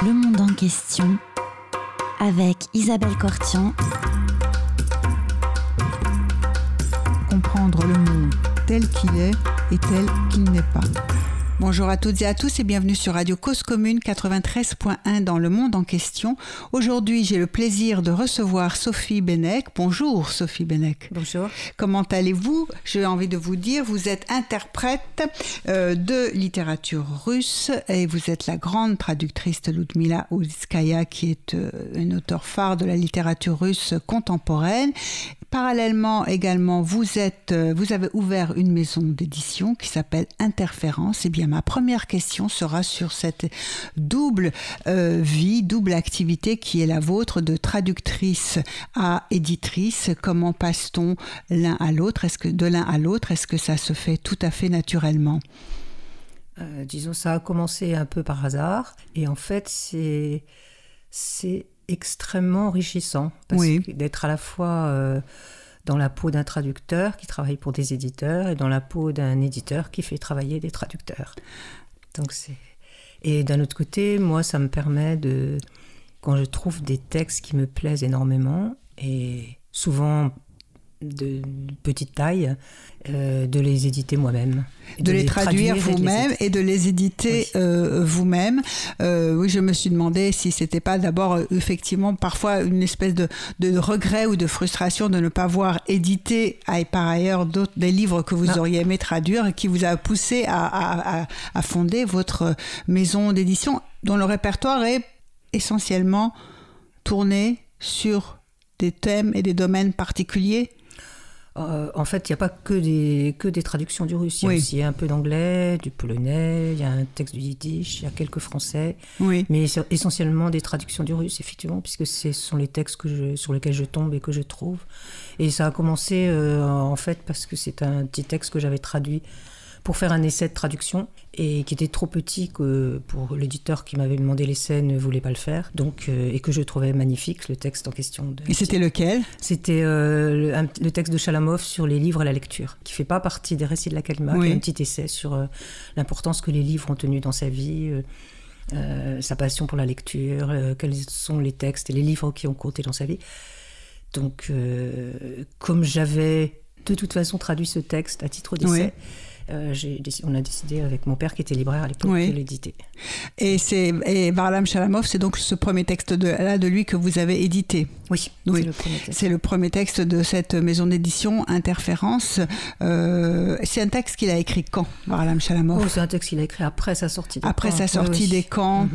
Le monde en question avec Isabelle Cortian. Comprendre le monde tel qu'il est et tel qu'il n'est pas. Bonjour à toutes et à tous et bienvenue sur Radio Cause Commune 93.1 dans le monde en question. Aujourd'hui, j'ai le plaisir de recevoir Sophie Benech. Bonjour Sophie Benech. Bonjour. Comment allez-vous ? J'ai envie de vous dire, vous êtes interprète de littérature russe et vous êtes la grande traductrice de Ludmila Ulitskaya qui est une auteure phare de la littérature russe contemporaine. Parallèlement également, vous avez ouvert une maison d'édition qui s'appelle Interférence. Eh bien, ma première question sera sur cette double vie, double activité qui est la vôtre de traductrice à éditrice. Comment passe-t-on l'un à l'autre ? Est-ce que ça se fait tout à fait naturellement ? Disons, ça a commencé un peu par hasard. Et en fait, c'est extrêmement enrichissant parce que d'être à la fois dans la peau d'un traducteur qui travaille pour des éditeurs et dans la peau d'un éditeur qui fait travailler des traducteurs. Et d'un autre côté, moi, ça me permet quand je trouve des textes qui me plaisent énormément et souvent de petite taille, de les éditer moi-même. De les traduire vous-même et de les éditer vous-même. Oui, je me suis demandé si c'était pas d'abord effectivement parfois une espèce de regret ou de frustration de ne pas voir éditer par ailleurs des livres que vous auriez aimé traduire et qui vous a poussé à fonder votre maison d'édition dont le répertoire est essentiellement tourné sur des thèmes et des domaines particuliers. En fait, il n'y a pas que des traductions du russe. Il y a aussi un peu d'anglais, du polonais, il y a un texte du yiddish, il y a quelques français. Oui. Mais essentiellement des traductions du russe, effectivement, puisque ce sont les textes sur lesquels je tombe et que je trouve. Et ça a commencé, en fait, parce que c'est un petit texte que j'avais traduit pour faire un essai de traduction et qui était trop petit que pour l'éditeur qui m'avait demandé l'essai ne voulait pas le faire, donc et que je trouvais magnifique le texte en question. Et c'était lequel ? C'était le texte de Chalamov sur les livres et la lecture, qui fait pas partie des récits de la Kalima, qui est un petit essai sur l'importance que les livres ont tenue dans sa vie, sa passion pour la lecture, quels sont les textes et les livres qui ont compté dans sa vie. Donc, comme j'avais de toute façon traduit ce texte à titre d'essai, on a décidé avec mon père qui était libraire à l'époque de l'éditer. Et Varlam Chalamov, c'est donc ce premier texte de lui que vous avez édité. Oui. C'est le premier texte de cette maison d'édition Interférence. C'est un texte qu'il a écrit quand, Varlam Chalamov ? C'est un texte qu'il a écrit après sa sortie des camps. Après sa sortie des camps.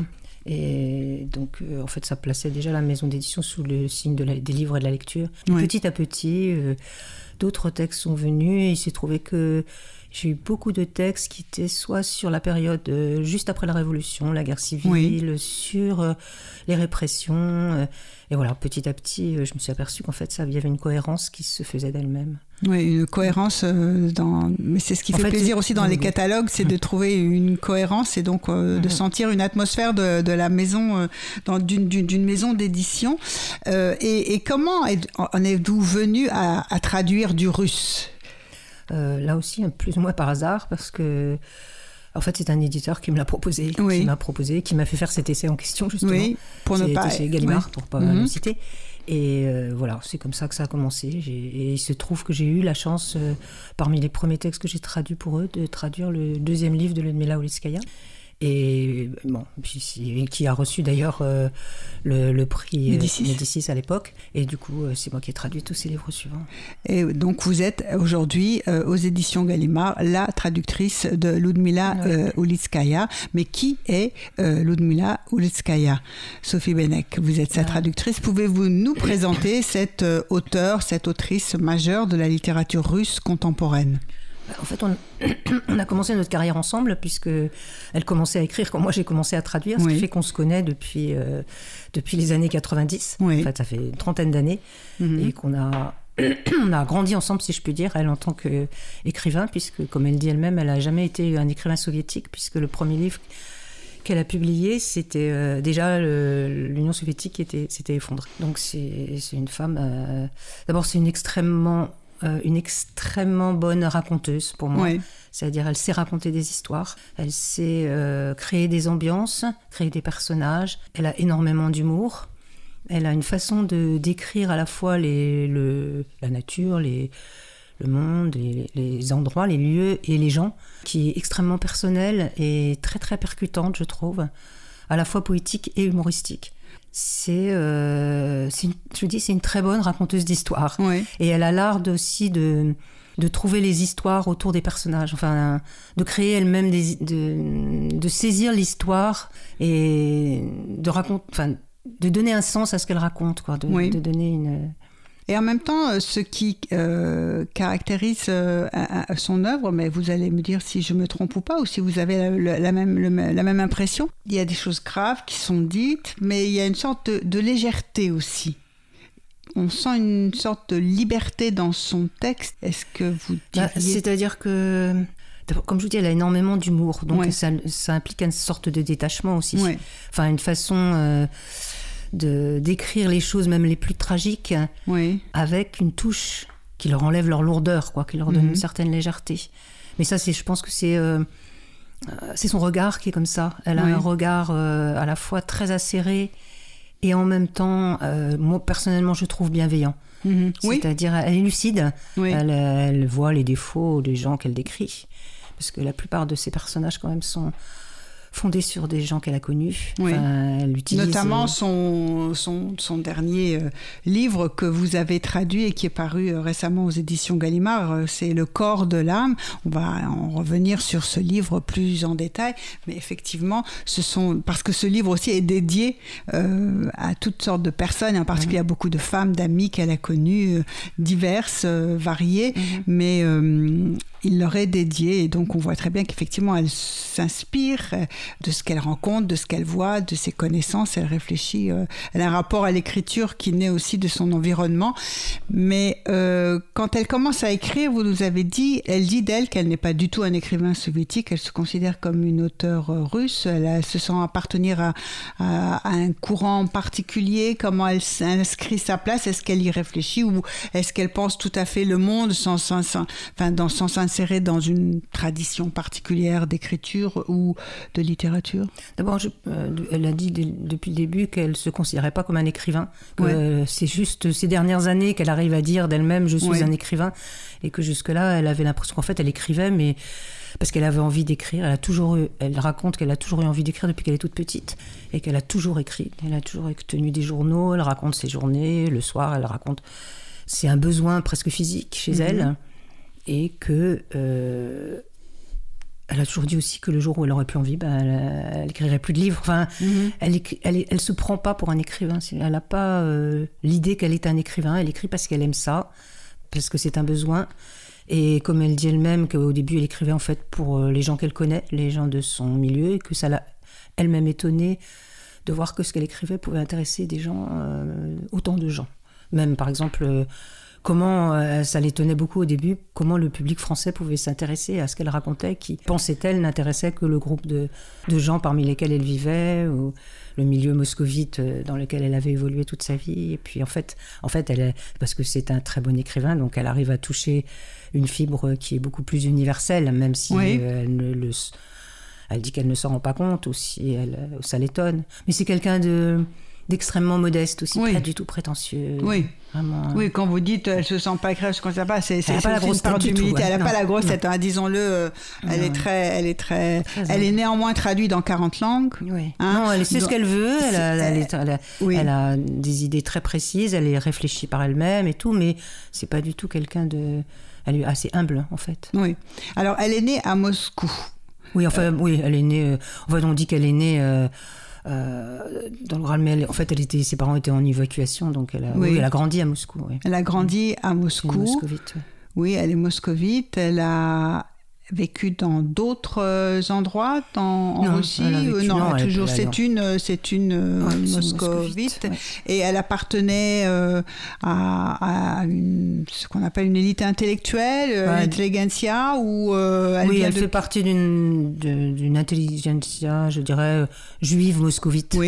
Et donc, en fait, ça plaçait déjà la maison d'édition sous le signe des livres et de la lecture. Petit à petit, d'autres textes sont venus et il s'est trouvé que j'ai eu beaucoup de textes qui étaient soit sur la période juste après la Révolution, la guerre civile, sur les répressions. Et voilà, petit à petit, je me suis aperçue qu'en fait, il y avait une cohérence qui se faisait d'elle-même. Oui, une cohérence mais c'est ce qui fait plaisir aussi dans les catalogues, c'est de trouver une cohérence et donc de sentir une atmosphère de la maison, d'une maison d'édition. Et comment en êtes-vous venu à traduire du russe ? Là aussi, plus ou moins par hasard, parce que en fait, c'est un éditeur qui me l'a proposé, qui m'a fait faire cet essai en question, justement. Oui, pour ne pas... C'est Gallimard, pour ne pas le citer. Et voilà, c'est comme ça que ça a commencé. Et il se trouve que j'ai eu la chance, parmi les premiers textes que j'ai traduits pour eux, de traduire le deuxième livre de Ludmila Ulitskaya. Et bon, qui a reçu d'ailleurs le prix Médicis à l'époque. Et du coup, c'est moi qui ai traduit tous ces livres suivants. Et donc, vous êtes aujourd'hui aux éditions Gallimard la traductrice de Ludmila Ulitskaya. Mais qui est Ludmila Ulitskaya ? Sophie Benech, vous êtes sa traductrice. Pouvez-vous nous présenter cette autrice majeure de la littérature russe contemporaine ? En fait, on a commencé notre carrière ensemble puisqu'elle commençait à écrire quand moi j'ai commencé à traduire, ce qui fait qu'on se connaît depuis les années 90. En fait, ça fait une trentaine d'années et qu'on a on a grandi ensemble, si je puis dire, elle en tant qu'écrivain, puisque, comme elle dit elle-même, elle n'a jamais été un écrivain soviétique, puisque le premier livre qu'elle a publié, c'était déjà l'Union soviétique s'était effondrée. Donc c'est une femme... d'abord, c'est une extrêmement une extrêmement bonne raconteuse pour moi. Oui. C'est-à-dire, elle sait raconter des histoires, elle sait créer des ambiances, créer des personnages. Elle a énormément d'humour. Elle a une façon de décrire à la fois la nature, le monde, les endroits, les lieux et les gens, qui est extrêmement personnelle et très très percutante, je trouve, à la fois poétique et humoristique. C'est une très bonne raconteuse d'histoire. Oui. Et elle a l'art aussi de trouver les histoires autour des personnages, enfin, de créer elle-même de saisir l'histoire et de donner un sens à ce qu'elle raconte, quoi, de donner une... Et en même temps, ce qui caractérise son œuvre, mais vous allez me dire si je me trompe ou pas, ou si vous avez la même impression, il y a des choses graves qui sont dites, mais il y a une sorte de légèreté aussi. On sent une sorte de liberté dans son texte. Est-ce que vous diriez... C'est-à-dire que, comme je vous dis, elle a énormément d'humour, donc ça implique une sorte de détachement aussi. Ouais. Enfin, une façon... d'écrire les choses, même les plus tragiques, avec une touche qui leur enlève leur lourdeur, quoi, qui leur donne une certaine légèreté. Mais ça, je pense que c'est son regard qui est comme ça. Elle a un regard à la fois très acéré et en même temps, moi personnellement, je trouve bienveillant. C'est-à-dire, elle est lucide. Elle voit les défauts des gens qu'elle décrit, parce que la plupart de ces personnages quand même sont fondée sur des gens qu'elle a connus. Elle utilise... Notamment son dernier livre que vous avez traduit et qui est paru récemment aux éditions Gallimard, c'est Le corps de l'âme. On va en revenir sur ce livre plus en détail, mais effectivement, parce que ce livre aussi est dédié à toutes sortes de personnes, et en particulier à beaucoup de femmes, d'amies qu'elle a connues, diverses, variées, mais il leur est dédié, et donc on voit très bien qu'effectivement elle s'inspire de ce qu'elle rencontre, de ce qu'elle voit, de ses connaissances, elle réfléchit, elle a un rapport à l'écriture qui naît aussi de son environnement, mais quand elle commence à écrire, vous nous avez dit, elle dit d'elle qu'elle n'est pas du tout un écrivain soviétique, elle se considère comme une auteure russe, elle se sent appartenir à un courant particulier, comment elle inscrit sa place, est-ce qu'elle y réfléchit ou est-ce qu'elle pense tout à fait le monde sans s'insérer dans une tradition particulière d'écriture ou de littérature? D'abord, elle a dit depuis le début qu'elle ne se considérait pas comme un écrivain. Que c'est juste ces dernières années qu'elle arrive à dire d'elle-même « je suis un écrivain » et que jusque-là, elle avait l'impression qu'en fait, elle écrivait, mais parce qu'elle avait envie d'écrire. Elle raconte qu'elle a toujours eu envie d'écrire depuis qu'elle est toute petite et qu'elle a toujours écrit. Elle a toujours tenu des journaux, elle raconte ses journées, le soir, elle raconte... C'est un besoin presque physique chez elle. Et que elle a toujours dit aussi que le jour où elle aurait plus envie, elle écrirait plus de livres. Enfin, elle se prend pas pour un écrivain. Elle n'a pas l'idée qu'elle est un écrivain. Elle écrit parce qu'elle aime ça, parce que c'est un besoin. Et comme elle dit elle-même qu'au début elle écrivait en fait pour les gens qu'elle connaît, les gens de son milieu, et que ça l'a elle-même étonnée de voir que ce qu'elle écrivait pouvait intéresser des gens, autant de gens. Même par exemple. Comment ça l'étonnait beaucoup au début, comment le public français pouvait s'intéresser à ce qu'elle racontait, qui, pensait-elle, n'intéressait que le groupe de gens parmi lesquels elle vivait, ou le milieu moscovite dans lequel elle avait évolué toute sa vie. Et puis en fait parce que c'est un très bon écrivain, donc elle arrive à toucher une fibre qui est beaucoup plus universelle, même si elle dit qu'elle ne s'en rend pas compte, ou si ça l'étonne. Mais c'est quelqu'un d'extrêmement modeste aussi, pas du tout prétentieux. Vraiment. Oui, quand vous dites elle se sent pas écrire, je ne considère pas, c'est pas la grosse tête du tout. Elle n'a pas la grosse tête, disons-le. Elle est néanmoins traduite dans 40 langues. Non, elle sait ce qu'elle veut. Elle a des idées très précises. Elle est réfléchie par elle-même et tout, mais c'est pas du tout quelqu'un de. Elle est assez humble en fait. Oui. Alors, elle est née à Moscou. Oui, elle est née. On dit qu'elle est née. Dans le Graal, mais en fait, ses parents étaient en évacuation, donc elle a grandi à Moscou. Elle a grandi à Moscou. Elle est moscovite. Oui, elle est moscovite. Elle a vécu dans d'autres endroits en Russie. C'est une moscovite. Et elle appartenait à ce qu'on appelle une élite intellectuelle, l'intelligentsia, ou elle fait partie d'une intelligentsia, je dirais, juive moscovite. Oui.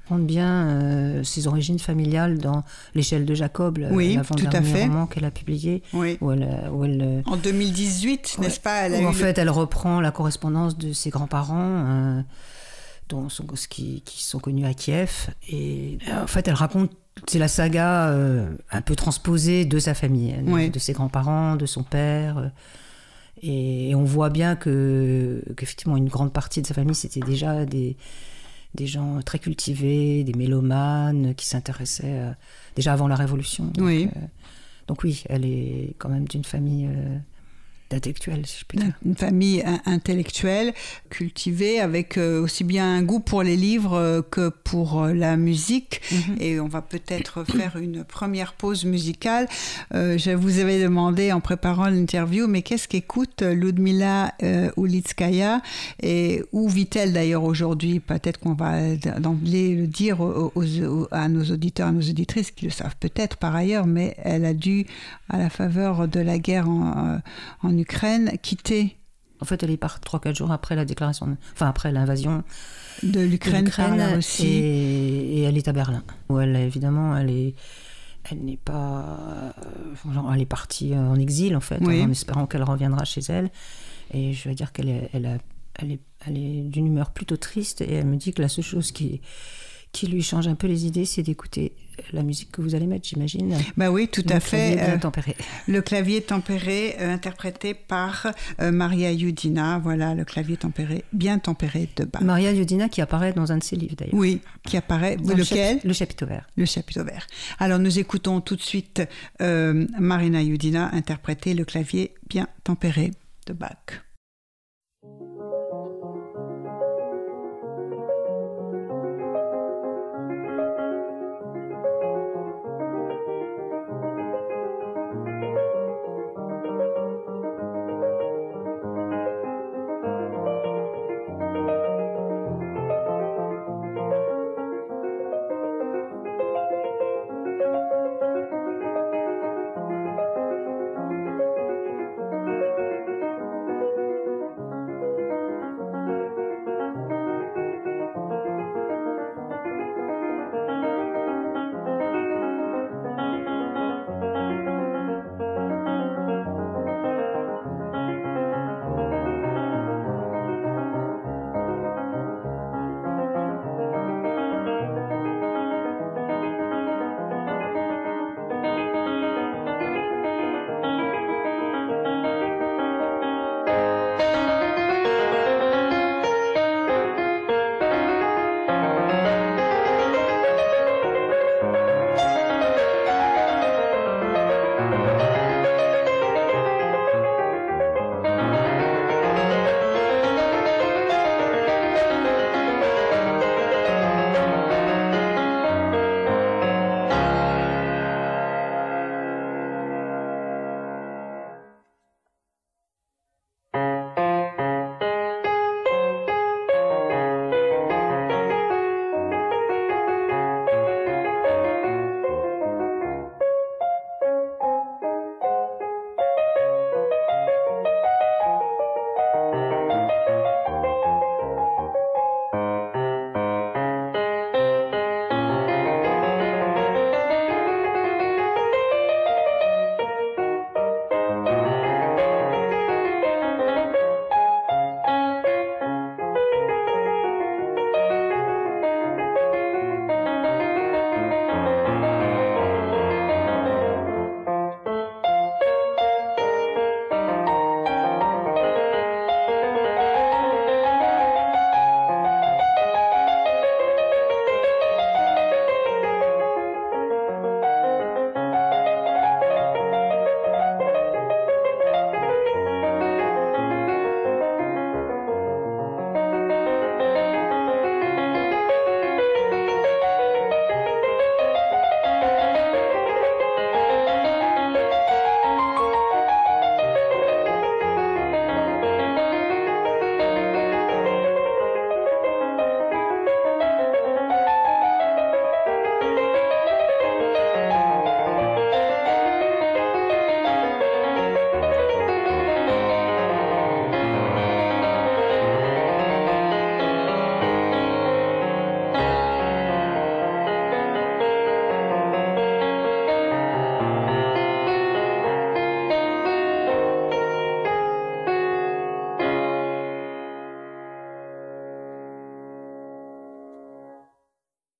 raconte bien ses origines familiales dans L'échelle de Jacob, l'avant-dernier roman qu'elle a publié. Oui. Où elle, en 2018, n'est-ce pas, en fait, elle reprend la correspondance de ses grands-parents, qui sont connus à Kiev. Et en fait, elle raconte, c'est la saga un peu transposée de sa famille, de ses grands-parents, de son père. Et on voit bien qu'effectivement, une grande partie de sa famille, c'était déjà des gens très cultivés, des mélomanes qui s'intéressaient déjà avant la Révolution. Donc oui, elle est quand même d'une famille d'intellectuels, si je puis dire. Une famille intellectuelle, cultivée, avec aussi bien un goût pour les livres que pour la musique. Et on va peut-être faire une première pause musicale. Je vous avais demandé en préparant l'interview, mais qu'est-ce qu'écoute Ludmila Ulitskaya et où vit-elle d'ailleurs aujourd'hui? Peut-être qu'on va d'emblée le dire à nos auditeurs, à nos auditrices qui le savent peut-être par ailleurs, mais elle a dû, à la faveur de la guerre en Ukraine, quitter. En fait, elle est partie 3-4 jours après la déclaration, après l'invasion de l'Ukraine par la Russie. Et elle est à Berlin, où elle n'est pas, elle est partie en exil en fait, en espérant qu'elle reviendra chez elle. Et je veux dire qu'elle est d'une humeur plutôt triste, et elle me dit que la seule chose qui lui change un peu les idées, c'est d'écouter la musique que vous allez mettre, j'imagine. Bah oui, tout à fait. Bien tempéré. Le clavier tempéré, interprété par Maria Yudina. Voilà, le clavier tempéré, bien tempéré de Bach. Maria Yudina qui apparaît dans un de ses livres, d'ailleurs. Oui, qui apparaît. Lequel ? Le Chapiteau vert. Le Chapiteau vert. Alors, nous écoutons tout de suite Marina Yudina interpréter le clavier bien tempéré de Bach.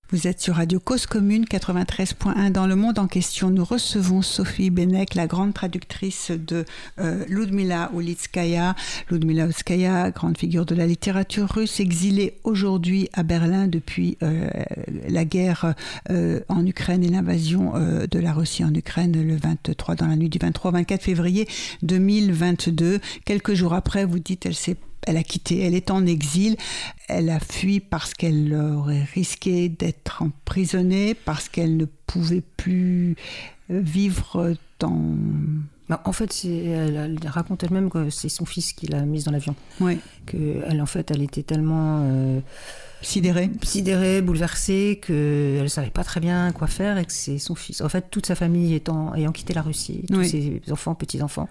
Vous êtes sur Radio Cause Commune 93.1 dans le monde en question. Nous recevons Sophie Benek, la grande traductrice de Ludmila Ulitskaya. Ludmila Ulitskaya, grande figure de la littérature russe, exilée aujourd'hui à Berlin depuis la guerre en Ukraine et l'invasion de la Russie en Ukraine dans la nuit du 23 au 24 février 2022. Quelques jours après, vous dites, elle a quitté, elle est en exil, elle a fui parce qu'elle aurait risqué d'être emprisonnée, parce qu'elle ne pouvait plus vivre dans... En fait, elle raconte elle-même que c'est son fils qui l'a mise dans l'avion. Oui. Elle était tellement... sidérée, bouleversée, qu'elle ne savait pas très bien quoi faire et que c'est son fils. En fait, toute sa famille ayant quitté la Russie, tous ses enfants, petits-enfants,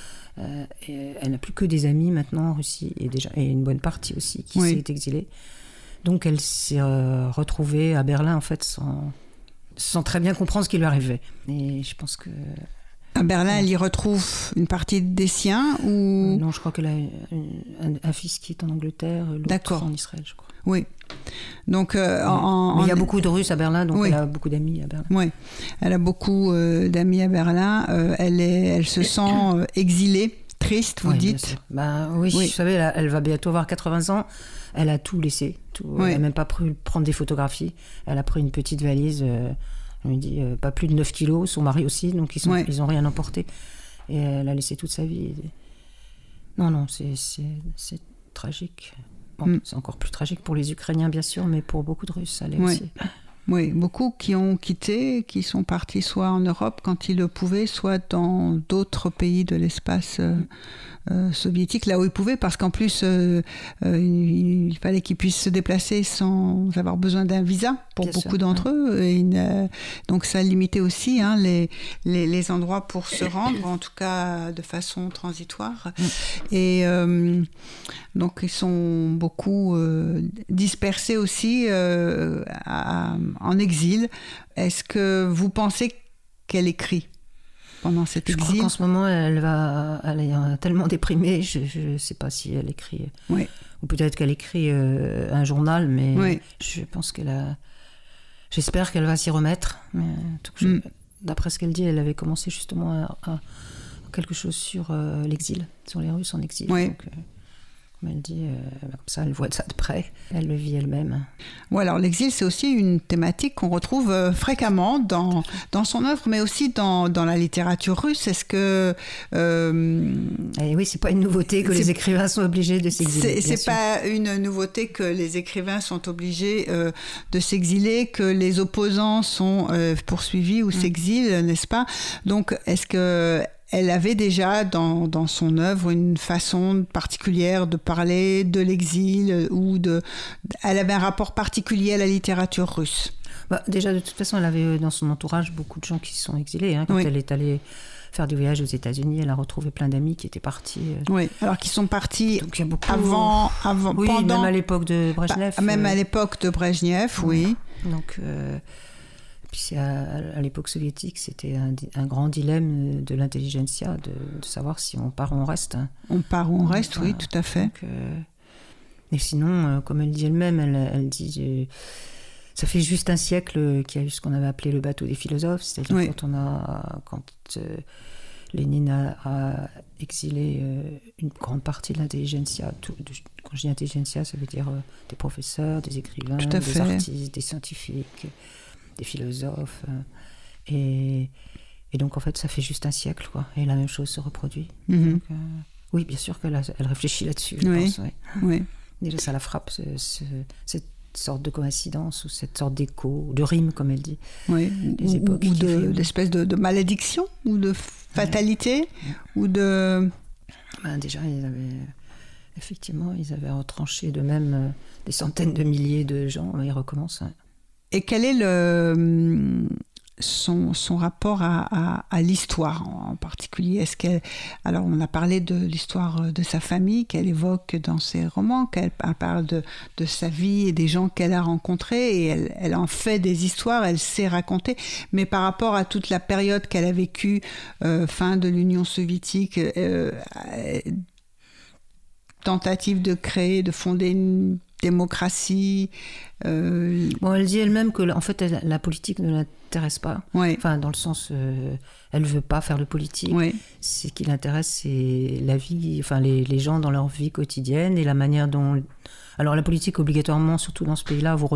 elle n'a plus que des amis maintenant en Russie et une bonne partie aussi qui s'est exilée. Donc elle s'est retrouvée à Berlin en fait sans très bien comprendre ce qui lui arrivait. Et je pense que... À Berlin, elle y retrouve une partie des siens ou... Non, je crois qu'elle a un fils qui est en Angleterre, l'autre en Israël, je crois. Oui. Donc, mais il y a beaucoup de Russes à Berlin, donc elle a beaucoup d'amis à Berlin. Oui, elle a beaucoup d'amis à Berlin. Elle se sent exilée, triste, vous dites. Oui, vous savez, elle va bientôt avoir 80 ans. Elle a tout laissé. Elle n'a même pas pu prendre des photographies. Elle a pris une petite valise, on lui dit pas plus de 9 kilos, son mari aussi, donc ils n'ont rien emporté. Et elle a laissé toute sa vie. Non, c'est tragique. Bon, c'est encore plus tragique pour les Ukrainiens, bien sûr, mais pour beaucoup de Russes, ça l'est aussi. Oui, beaucoup qui ont quitté, qui sont partis soit en Europe quand ils le pouvaient, soit dans d'autres pays de l'espace soviétique, là où ils pouvaient, parce qu'en plus, il fallait qu'ils puissent se déplacer sans avoir besoin d'un visa pour beaucoup d'entre eux. Et donc ça limitait aussi les endroits pour se rendre, en tout cas de façon transitoire. Et donc ils sont beaucoup dispersés aussi en exil. Est-ce que vous pensez qu'elle écrit pendant cet exil? Je crois qu'en ce moment, elle est tellement déprimée, je ne sais pas si elle écrit. Ou peut-être qu'elle écrit un journal, mais je pense j'espère qu'elle va s'y remettre. Mais, d'après ce qu'elle dit, elle avait commencé justement à quelque chose sur l'exil, sur les Russes en exil. Donc, comme elle dit, comme ça, elle voit ça de près, elle le vit elle-même. Alors l'exil, c'est aussi une thématique qu'on retrouve fréquemment dans son œuvre, mais aussi dans la littérature russe. Est-ce que... oui, c'est pas une nouveauté que les écrivains sont obligés de s'exiler. C'est pas une nouveauté que les écrivains sont obligés de s'exiler, que les opposants sont poursuivis ou s'exilent, n'est-ce pas? Donc, est-ce que... Elle avait déjà dans son œuvre une façon particulière de parler de l'exil elle avait un rapport particulier à la littérature russe. Déjà, de toute façon, elle avait dans son entourage beaucoup de gens qui sont exilés. Quand elle est allée faire du voyage aux États-Unis, elle a retrouvé plein d'amis qui étaient partis. Alors qui sont partis donc, il y a beaucoup... avant pendant... même à l'époque de Brejnev. Même à l'époque de Brejnev, oui. Donc... Puis à l'époque soviétique, c'était un grand dilemme de l'intelligentsia, de savoir si on part ou on reste. On part ou on reste, oui, tout à fait. Donc, et sinon, comme elle dit elle-même, elle dit... ça fait juste un siècle qu'il y a eu ce qu'on avait appelé le bateau des philosophes, c'est-à-dire quand Lénine a exilé une grande partie de l'intelligentsia. Quand je dis intelligentsia, ça veut dire des professeurs, des écrivains, des artistes, des scientifiques... des philosophes, et donc en fait ça fait juste un siècle, et la même chose se reproduit. Donc, oui, bien sûr qu'elle réfléchit là-dessus, je pense. Déjà ça la frappe, cette sorte de coïncidence ou cette sorte d'écho, de rime comme elle dit, des époques ou d'espèce de malédiction ou de fatalité ou de... Déjà ils avaient retranché de même des centaines de milliers de gens, ils recommencent. Et quel est son rapport à l'histoire en particulier? Alors, on a parlé de l'histoire de sa famille qu'elle évoque dans ses romans, qu'elle parle de sa vie et des gens qu'elle a rencontrés, et elle en fait des histoires, elle sait raconter. Mais par rapport à toute la période qu'elle a vécue, fin de l'Union soviétique, tentative de créer, de fonder démocratie. Bon, elle dit elle-même que en fait, la politique ne l'intéresse pas. Oui. Enfin, dans le sens, elle ne veut pas faire de politique. Oui. Ce qui l'intéresse, c'est la vie, enfin les gens dans leur vie quotidienne et la manière dont. Alors la politique, obligatoirement, surtout dans ce pays-là, vous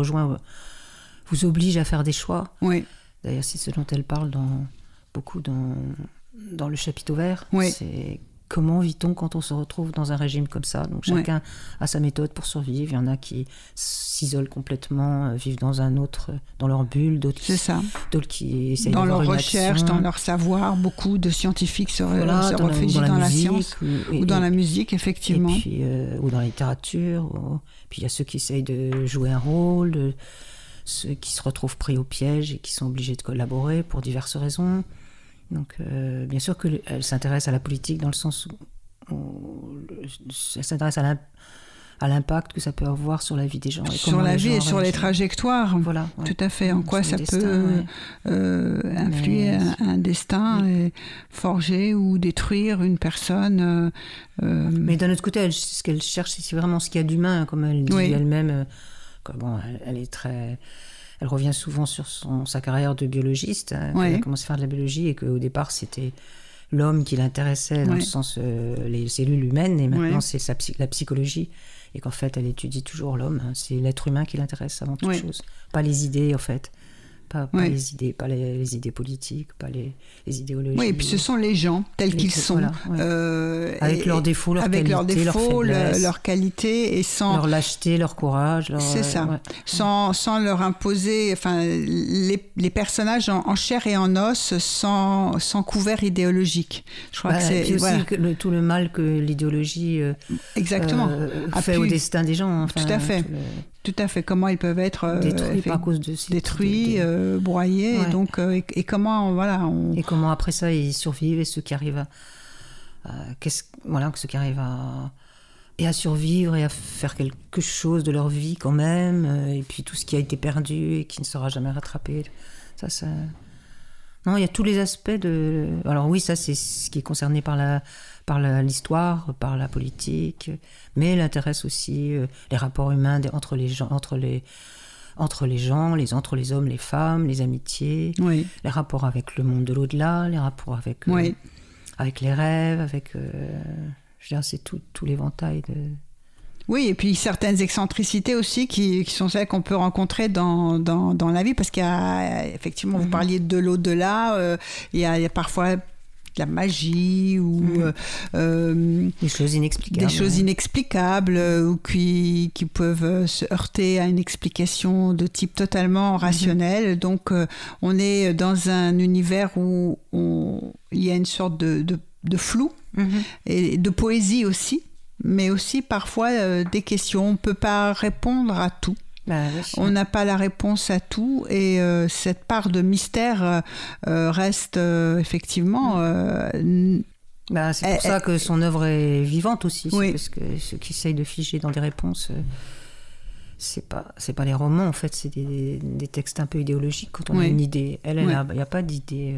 oblige à faire des choix. Oui. D'ailleurs, c'est ce dont elle parle beaucoup dans le chapiteau vert. Oui. C'est comment vit-on quand on se retrouve dans un régime comme ça. Donc chacun a sa méthode pour survivre. Il y en a qui s'isolent complètement, vivent dans leur bulle, d'autres qui essayent dans d'avoir leur une recherche, action. dans leur savoir. Beaucoup de scientifiques se réfugient dans la science ou dans la musique, effectivement. Et puis, ou dans la littérature. Puis il y a ceux qui essayent de jouer un rôle, ceux qui se retrouvent pris au piège et qui sont obligés de collaborer pour diverses raisons. Donc, bien sûr qu'elle s'intéresse à la politique dans le sens où elle s'intéresse à l'impact que ça peut avoir sur la vie des gens. Sur la vie et sur les trajectoires. Voilà. Ouais. Tout à fait. En quoi ça destin, peut influer un destin et forger ou détruire une personne. Mais d'un autre côté, ce qu'elle cherche, c'est vraiment ce qu'il y a d'humain, comme elle dit elle-même. Elle est très... Elle revient souvent sur sa carrière de biologiste. Elle a commencé à faire de la biologie et qu'au départ, c'était l'homme qui l'intéressait dans le sens les cellules humaines. Et maintenant, c'est la psychologie. Et qu'en fait, elle étudie toujours l'homme. C'est l'être humain qui l'intéresse avant toute chose. Pas les idées, en fait. Pas les idées, pas les idées politiques, pas les idéologies. Oui, et puis ce sont les gens tels qu'ils sont. Voilà, avec leurs défauts, leurs qualités, leurs faiblesses. Leurs qualités et sans... Leur lâcheté, leur courage. C'est ça. Sans leur imposer... Enfin, les personnages en chair et en os sans couvert idéologique. Je crois que c'est... Et puis aussi tout le mal que l'idéologie fait au destin des gens. Enfin, tout à fait. Tout à fait. Comment ils peuvent être détruits à cause de détruits, broyés, et comment et comment après ça ils survivent et ceux qui arrivent à survivre et à faire quelque chose de leur vie quand même, et puis tout ce qui a été perdu et qui ne sera jamais rattrapé. Ça. Non, il y a tous les aspects de. Alors oui, ça c'est ce qui est concerné par l'histoire, par la politique, mais elle intéresse aussi les rapports humains entre les gens, entre les hommes, les femmes, les amitiés, les rapports avec le monde de l'au-delà, les rapports avec les rêves, avec je veux dire, c'est tout l'éventail de... Oui, et puis certaines excentricités aussi qui sont celles qu'on peut rencontrer dans la vie, parce qu'il y a effectivement, vous parliez de l'au-delà, il y a parfois de la magie ou des choses inexplicables ou qui peuvent se heurter à une explication de type totalement rationnel. Donc on est dans un univers où il y a une sorte de flou et de poésie aussi, mais aussi parfois des questions. On ne peut pas répondre à tout. On n'a pas la réponse à tout, et cette part de mystère reste effectivement... c'est pour ça que son œuvre est vivante aussi, parce que ceux qui essayent de figer dans des réponses... c'est pas les romans, en fait, c'est des textes un peu idéologiques quand on a une idée. Il n'y a pas d'idée...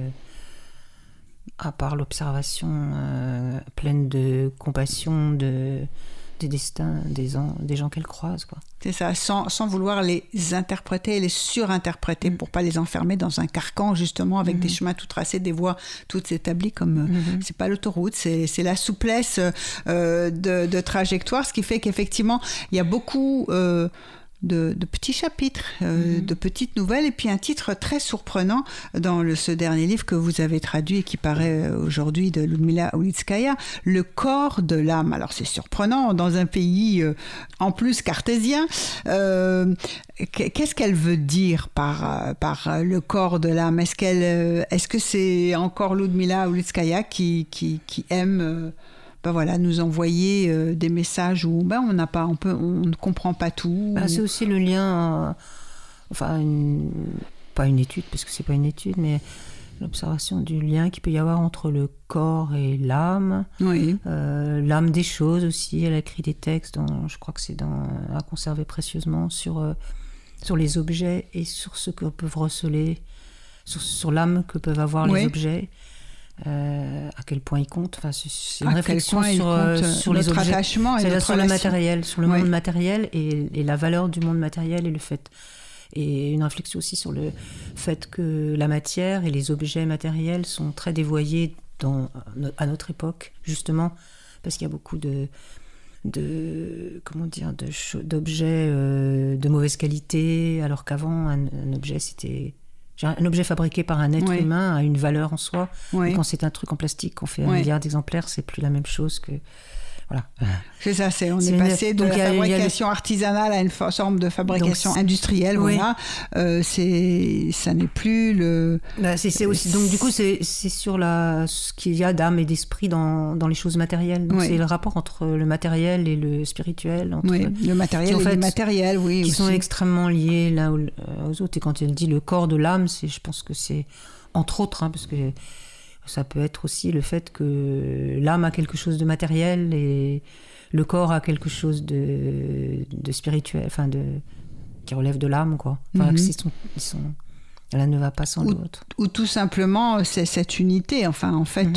à part l'observation pleine de compassion des destins des gens qu'elle croise, quoi. C'est ça, sans vouloir les interpréter et les surinterpréter pour pas les enfermer dans un carcan, justement, avec des chemins tout tracés, des voies toutes établies, comme c'est pas l'autoroute, c'est la souplesse de trajectoire, ce qui fait qu'effectivement il y a beaucoup de petits chapitres, de petites nouvelles, et puis un titre très surprenant dans ce dernier livre que vous avez traduit et qui paraît aujourd'hui, de Ludmila Ulitskaya, Le corps de l'âme. Alors c'est surprenant dans un pays en plus cartésien. Qu'est-ce qu'elle veut dire par le corps de l'âme? Est-ce que c'est encore Ludmila Ulitskaya qui aime nous envoyer des messages où on ne comprend pas tout. C'est aussi le lien, pas une étude, parce que c'est pas une étude, mais l'observation du lien qu'il peut y avoir entre le corps et l'âme. Oui. L'âme des choses aussi. Elle a écrit des textes, je crois que c'est à conserver précieusement, sur les objets et sur ce que peuvent receler, sur l'âme que peuvent avoir les objets. à quel point il compte. Enfin, c'est une réflexion sur les objets, attachement et sur le matériel, sur le monde matériel et la valeur du monde matériel et le fait. Et une réflexion aussi sur le fait que la matière et les objets matériels sont très dévoyés à notre époque, justement, parce qu'il y a beaucoup d'objets de mauvaise qualité, alors qu'avant, un objet, c'était... Un objet fabriqué par un être humain a une valeur en soi. Et quand c'est un truc en plastique qu'on fait 1 milliard d'exemplaires, c'est plus la même chose que... Voilà. C'est ça, on est passé de la fabrication artisanale à une forme de fabrication industrielle. Voilà. Ça n'est plus le... c'est aussi, donc du coup, c'est sur ce qu'il y a d'âme et d'esprit dans les choses matérielles. Donc c'est le rapport entre le matériel et le spirituel. Le matériel et l'immatériel, qui sont extrêmement liés l'un aux autres. Et quand elle dit le corps de l'âme, je pense que c'est entre autres, parce que ça peut être aussi le fait que l'âme a quelque chose de matériel et le corps a quelque chose de spirituel, enfin qui relève de l'âme, quoi. Enfin, l'un ne va pas sans l'autre. Ou tout simplement, c'est cette unité. Enfin, en fait,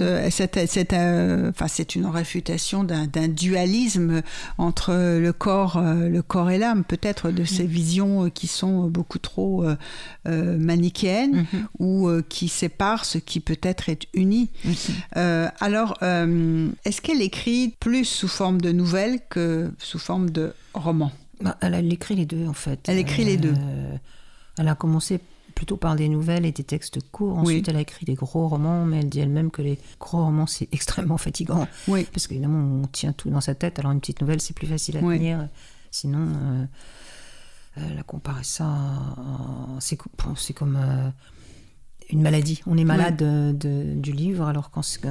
c'est une réfutation d'un dualisme entre le corps et l'âme, peut-être de ces visions qui sont beaucoup trop manichéennes ou qui séparent ce qui peut-être est uni. Alors, est-ce qu'elle écrit plus sous forme de nouvelles que sous forme de romans ? Elle écrit les deux, en fait. Elle écrit les deux. Elle a commencé plutôt par des nouvelles et des textes courts. Ensuite, elle a écrit des gros romans, mais elle dit elle-même que les gros romans, c'est extrêmement fatigant. Parce qu'évidemment, on tient tout dans sa tête. Alors, une petite nouvelle, c'est plus facile à tenir. Sinon, elle a comparé ça c'est comme une maladie. On est malade du livre, alors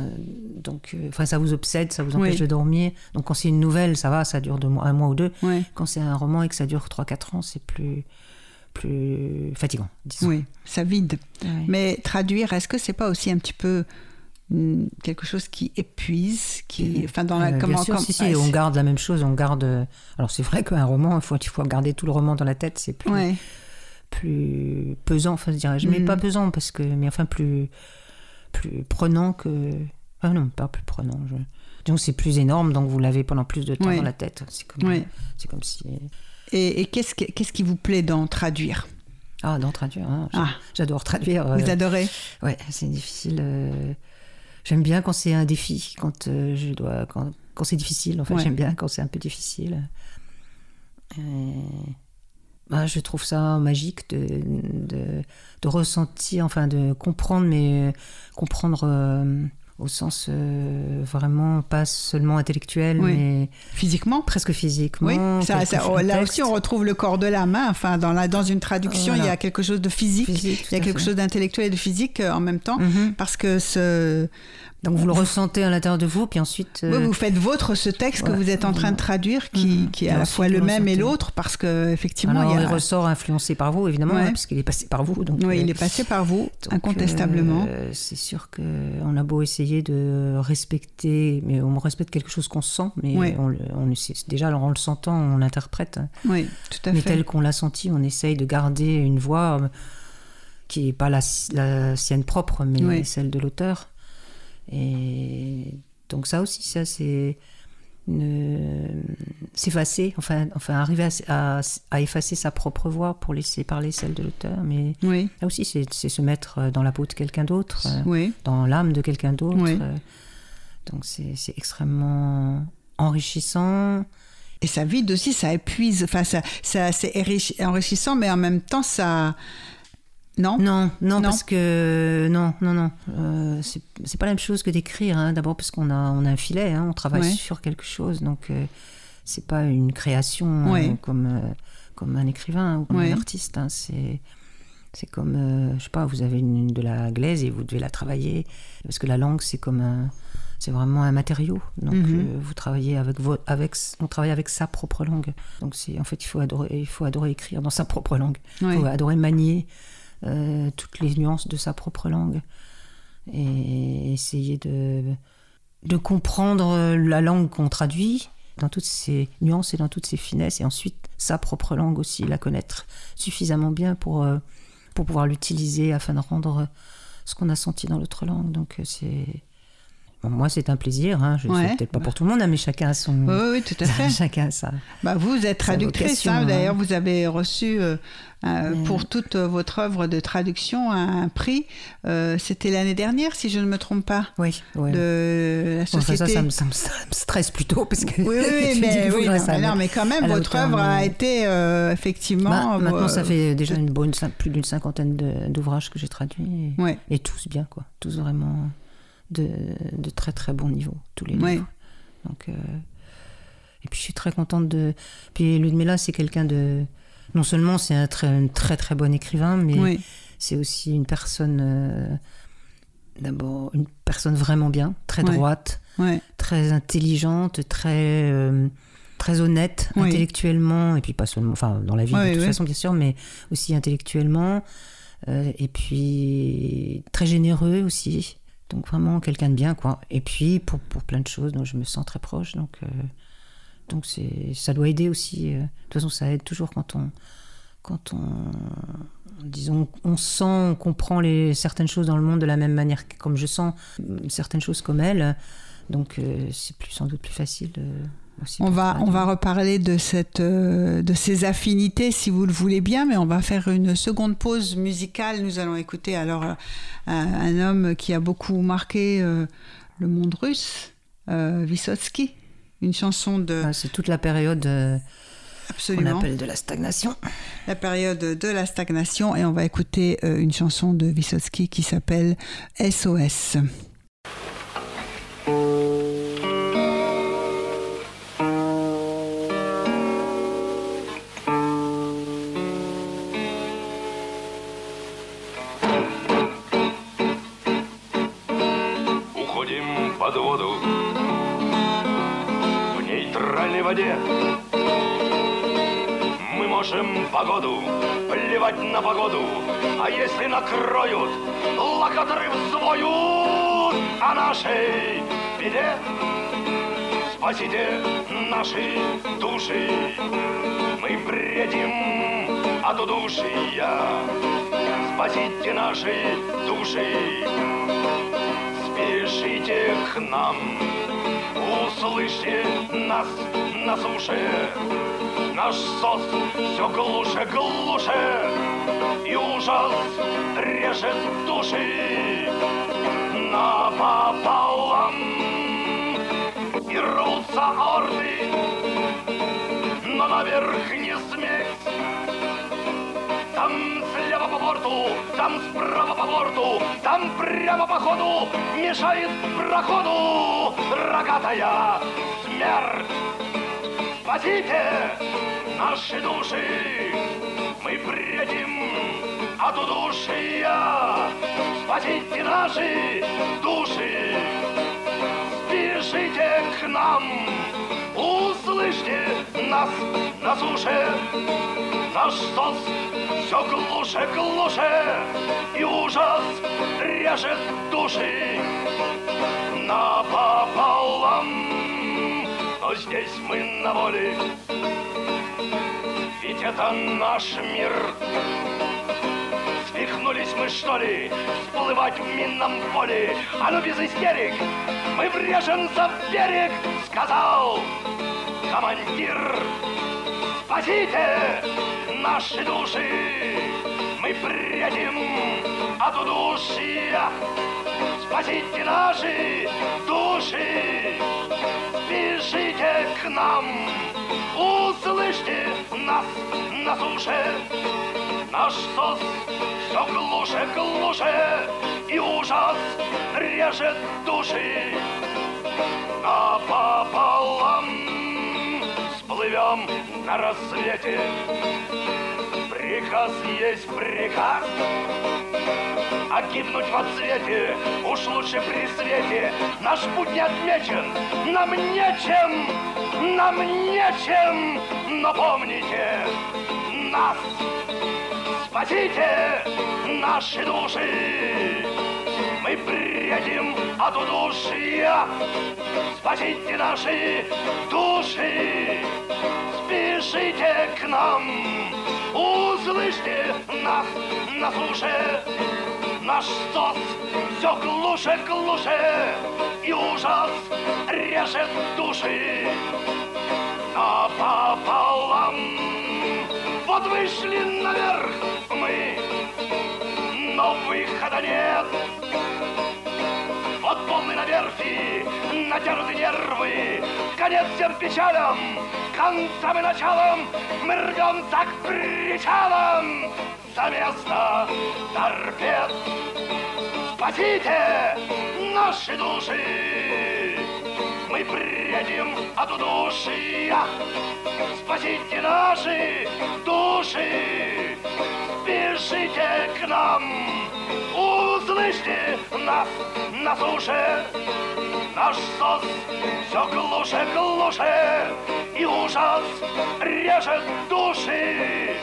ça vous obsède, ça vous empêche de dormir. Donc, quand c'est une nouvelle, ça va, ça dure 1 mois ou 2. Quand c'est un roman et que ça dure 3-4 ans, c'est plus fatigant, disons. Oui, ça vide. Mais traduire, est-ce que c'est pas aussi un petit peu quelque chose qui épuise, bien sûr, on garde la même chose, alors c'est vrai qu'un roman, il faut garder tout le roman dans la tête, c'est plus pesant, enfin, je dirais, mais pas pesant mais plus prenant que... Ah non, pas plus prenant. Donc c'est plus énorme, donc vous l'avez pendant plus de temps dans la tête. C'est comme si... Et qu'est-ce qui vous plaît dans traduire ? Dans traduire, j'adore traduire. Vous adorez ? Ouais, c'est difficile. J'aime bien quand c'est un défi, quand c'est difficile. En fait, j'aime bien quand c'est un peu difficile. Je trouve ça magique de ressentir, enfin de comprendre, mais comprendre au sens vraiment pas seulement intellectuel, mais physiquement, presque physiquement. Oui, là aussi on retrouve le corps de la main. Enfin, dans une traduction, il y a quelque chose de physique, il y a quelque chose d'intellectuel et de physique en même temps, parce que donc vous le ressentez à l'intérieur de vous, puis ensuite... vous faites vôtre ce texte que vous êtes en train de traduire, qui est à la fois le même et l'autre, parce qu'effectivement... il ressort influencé par vous, évidemment, puisqu'il est passé par vous. Donc, il est passé par vous, incontestablement. C'est sûr qu'on a beau essayer de respecter, mais on respecte quelque chose qu'on sent, mais déjà, en le sentant, on l'interprète. Oui, tout à fait. Mais tel qu'on l'a senti, on essaye de garder une voix qui n'est pas la sienne propre, mais celle de l'auteur. Et donc ça aussi, c'est s'effacer, enfin arriver à effacer sa propre voix pour laisser parler celle de l'auteur. Mais là aussi, c'est se mettre dans la peau de quelqu'un d'autre, dans l'âme de quelqu'un d'autre. Donc c'est extrêmement enrichissant. Et ça vide aussi, ça épuise. Enfin, c'est enrichissant, mais en même temps, ça... Non, parce que c'est pas la même chose que d'écrire. D'abord parce qu'on a un filet, on travaille sur quelque chose, donc c'est pas une création comme un écrivain ou comme un artiste. C'est comme je sais pas, vous avez de la glaise et vous devez la travailler, parce que la langue c'est vraiment un matériau. Donc vous travaillez on travaille avec sa propre langue. Donc en fait il faut adorer écrire dans sa propre langue. Il faut adorer manier toutes les nuances de sa propre langue et essayer de comprendre la langue qu'on traduit dans toutes ses nuances et dans toutes ses finesses, et ensuite sa propre langue aussi, la connaître suffisamment bien pour pouvoir l'utiliser afin de rendre ce qu'on a senti dans l'autre langue. Donc c'est... Bon, moi, c'est un plaisir. Hein. Je ne sais peut-être pas pour tout le monde, hein, mais chacun a son... Oui, tout à fait. Chacun a sa... vous êtes traductrice. Vocation, D'ailleurs, vous avez reçu, pour toute votre œuvre de traduction, un prix. C'était l'année dernière, si je ne me trompe pas. Oui. De la société... Bon, ça me stresse plutôt, parce que... Oui, mais quand même, votre œuvre a été effectivement... maintenant, ça fait déjà plus d'une cinquantaine d'ouvrages que j'ai traduits. Et tous bien, quoi. Tous vraiment... De très très bon niveau, tous les livres. Donc, et puis je suis très contente de... Puis Ludmila, c'est quelqu'un de... Non seulement c'est un très très bon écrivain, mais c'est aussi une personne... D'abord, une personne vraiment bien, très droite, très intelligente, très honnête intellectuellement, et puis pas seulement... Enfin, dans la vie de toute façon, bien sûr, mais aussi intellectuellement. Et puis très généreux aussi. Donc vraiment quelqu'un de bien, quoi. Et puis pour plein de choses dont je me sens très proche. Donc ça doit aider aussi. De toute façon, ça aide toujours quand on disons, on sent, on comprend certaines choses dans le monde de la même manière comme je sens certaines choses comme elle. Donc c'est sans doute plus facile. On va reparler de ces affinités si vous le voulez bien, mais on va faire une seconde pause musicale. Nous allons écouter alors un homme qui a beaucoup marqué le monde russe, Vysotsky, une chanson de... c'est toute la période Absolument. qu'on appelle de la stagnation. La période de la stagnation, et on va écouter une chanson de Vysotsky qui s'appelle SOS. Мы можем погоду плевать на погоду, а если накроют, локаторы взвоют о нашей беде. Спасите наши души, мы бредим от удушья. Спасите наши души, спешите к нам. Услышьте нас на суше, наш сос все глуше, глуше, и ужас режет души напополам. И рвутся орды, но наверх не сметь. Там слева по борту, там справа по борту, там прямо по ходу мешает проходу рогатая смерть. Спасите наши души, мы бредим от удушья. Спасите наши души, спешите к нам, услышьте нас на суше. Наш сос все глуше, глуше, и ужас режет души напополам. Но здесь мы на воле, ведь это наш мир. Свихнулись мы, что ли, всплывать в минном поле? А ну без истерик, мы врежемся в берег, сказал командир. Спасите наши души, мы бредим от удушья. Спасите наши души, спешите к нам, услышьте нас на суше. Наш сос все глуше, глуше, и ужас режет души напополам. Всплывем на рассвете, приказ есть приказ, а гибнуть во цвете уж лучше при свете. Наш путь не отмечен, нам нечем, но помните нас. Спасите наши души, мы бредим от удушья. Спасите наши души, спешите к нам, услышьте нас на суше. Наш СОС все глуше, глуше, и ужас режет души напополам. Вот вышли наверх мы, но выхода нет. Вот полный на верфи, натерты нервы, конец всем печалям, концам и началам, мы рвем так причалом за место торпед. Спасите наши души, мы бредим от удушья. Спасите наши души, спешите к нам, услышьте нас на суше. Наш СОС все глуше, глуше, и ужас режет души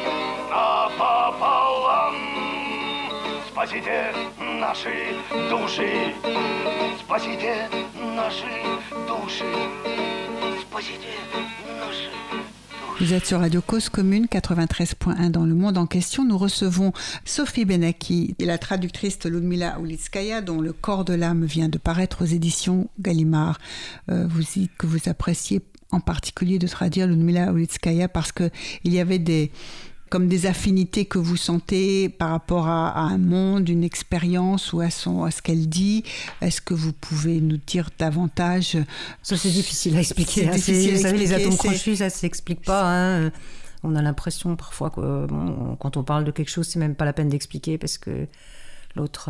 напополам. Спасите наши души, спасите наши души, спасите наши души. Vous êtes sur Radio Cause Commune 93.1 dans le monde en question. Nous recevons Sophie Benaki, la traductrice Ludmila Ulitskaya, dont Le corps de l'âme vient de paraître aux éditions Gallimard. Vous dites que vous appréciez en particulier de traduire Ludmila Ulitskaya parce qu'il y avait des affinités que vous sentez par rapport à un monde, une expérience ou à ce qu'elle dit. Est-ce que vous pouvez nous dire davantage? Ça, c'est difficile à expliquer. Vous savez, les atomes crochus, ça ne s'explique pas. Hein. On a l'impression parfois que quand on parle de quelque chose, c'est même pas la peine d'expliquer parce que l'autre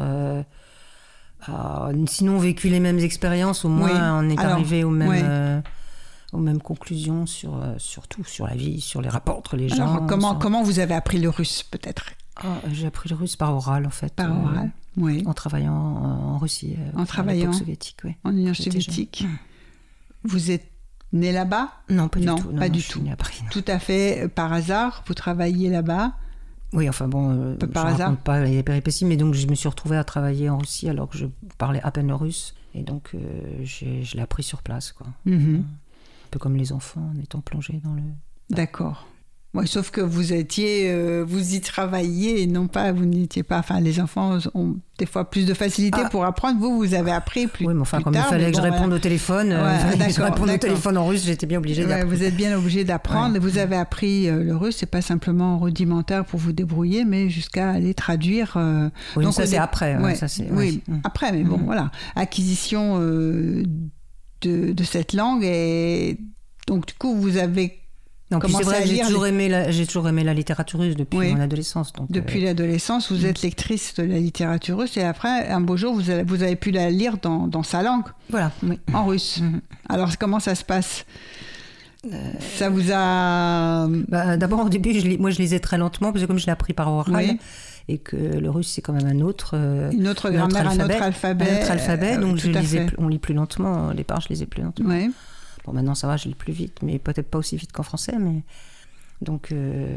a sinon vécu les mêmes expériences, au moins on est arrivé aux mêmes conclusions sur tout, sur la vie, sur les rapports entre les gens. Alors, comment vous avez appris le russe, peut-être? J'ai appris le russe par oral, en fait. Par oral, oui. En travaillant en Russie, à l'époque soviétique, oui. En Union soviétique. Vous êtes né là-bas? Non, pas du tout. Pas du tout. À Paris, tout à fait par hasard, vous travailliez là-bas? Oui, enfin bon, je ne raconte pas les péripéties, mais donc je me suis retrouvée à travailler en Russie alors que je parlais à peine le russe. Et donc, je l'ai appris sur place, quoi. Mm-hmm. Un peu comme les enfants en étant plongés dans le... D'accord. Ouais, sauf que vous y travailliez et non pas, vous n'étiez pas... Enfin, les enfants ont des fois plus de facilité pour apprendre. Vous avez appris plus tard. Oui, mais enfin, comme il fallait que je réponde au téléphone, au téléphone en russe, j'étais bien obligée d'apprendre. Vous êtes bien obligée d'apprendre. Ouais. Vous avez appris le russe, c'est pas simplement rudimentaire pour vous débrouiller, mais jusqu'à aller traduire... Oui, donc, ça c'est après. Après, mais bon, voilà. Acquisition de cette langue et... Donc, du coup, vous avez... Non, puis c'est vrai que j'ai toujours aimé la littérature russe depuis mon adolescence. Donc, depuis l'adolescence, vous êtes lectrice de la littérature russe et après, un beau jour, vous avez pu la lire dans sa langue, en russe. Alors, comment ça se passe? Ça vous a... D'abord, au début, je lisais très lentement parce que comme je l'ai appris par oral et que le russe, c'est quand même une autre grammaire, un autre alphabet. Donc, on lit plus lentement. Au départ, je lisais plus lentement. Oui. Bon, maintenant, ça va, je lis plus vite, mais peut-être pas aussi vite qu'en français. Mais... Donc,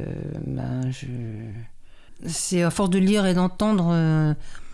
c'est à force de lire et d'entendre,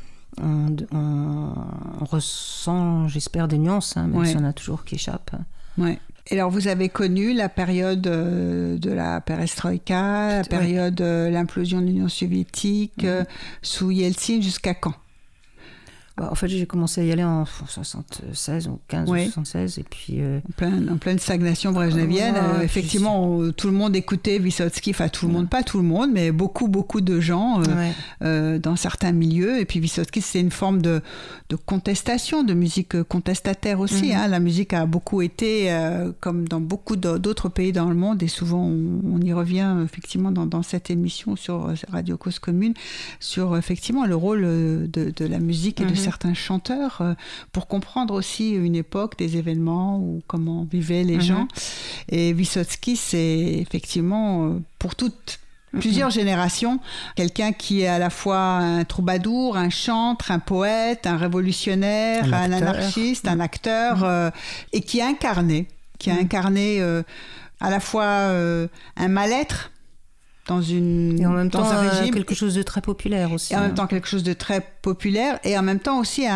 on ressent, j'espère, des nuances, même si on a toujours qui échappent. Oui. Et alors, vous avez connu la période de la perestroïka, la période de l'implosion de l'Union soviétique, sous Yeltsin, jusqu'à quand? En fait, j'ai commencé à y aller en 76 ou 15 ou 76 et puis... En pleine stagnation brejnevienne, effectivement, tout le monde écoutait Vysotsky, enfin tout le monde, pas tout le monde, mais beaucoup de gens dans certains milieux. Et puis Vysotsky, c'est une forme de contestation, de musique contestataire aussi. La musique a beaucoup été, comme dans beaucoup d'autres pays dans le monde, et souvent on y revient effectivement dans cette émission sur Radio Cause Commune, sur effectivement le rôle de la musique et de certains chanteurs pour comprendre aussi une époque, des événements ou comment vivaient les gens. Et Vysotsky, c'est effectivement pour plusieurs générations, quelqu'un qui est à la fois un troubadour, un chantre, un poète, un révolutionnaire, un anarchiste, un acteur, et qui a incarné à la fois un mal-être et en même temps quelque chose de très populaire aussi. Et en même temps quelque chose de très populaire et en même temps aussi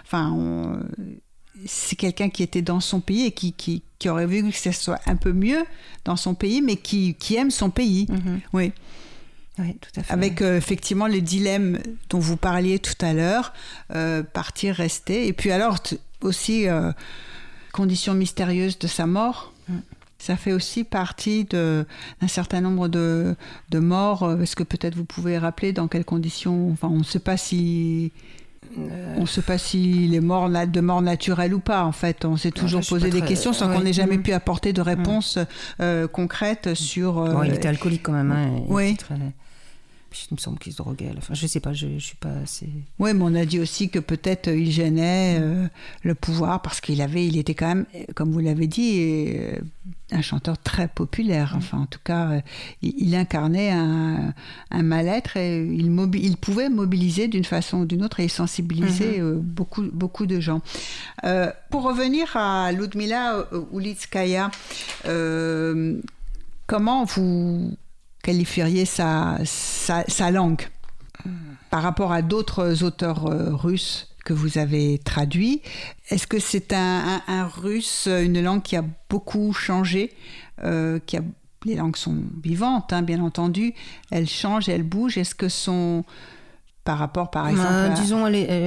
c'est quelqu'un qui était dans son pays et qui aurait voulu que ça soit un peu mieux dans son pays, mais qui aime son pays. Oui. Oui, tout à fait. Avec effectivement les dilemmes dont vous parliez tout à l'heure, partir, rester. Et puis alors aussi, conditions mystérieuses de sa mort. Ça fait aussi partie d'un certain nombre de morts. Est-ce que peut-être vous pouvez rappeler dans quelles conditions, enfin, on ne sait pas si... On ne sait pas s'il est mort de mort naturelle ou pas, en fait. On s'est toujours posé des questions sans qu'on n'ait jamais pu apporter de réponse concrète sur... il était alcoolique quand même. Hein, oui. Il me semble qu'il se droguait à la fin. Je ne sais pas, je ne suis pas assez... Oui, mais on a dit aussi que peut-être il gênait le pouvoir parce qu'il était quand même, comme vous l'avez dit, un chanteur très populaire. Enfin, en tout cas, il incarnait un mal-être et il pouvait mobiliser d'une façon ou d'une autre et sensibiliser beaucoup de gens. Pour revenir à Ludmila Ulitskaya, comment vous qualifieriez sa langue par rapport à d'autres auteurs russes que vous avez traduits? Est-ce que c'est un russe, une langue qui a beaucoup changé, les langues sont vivantes, hein, bien entendu, elles changent, elles bougent. Est-ce que par rapport, par exemple... Disons,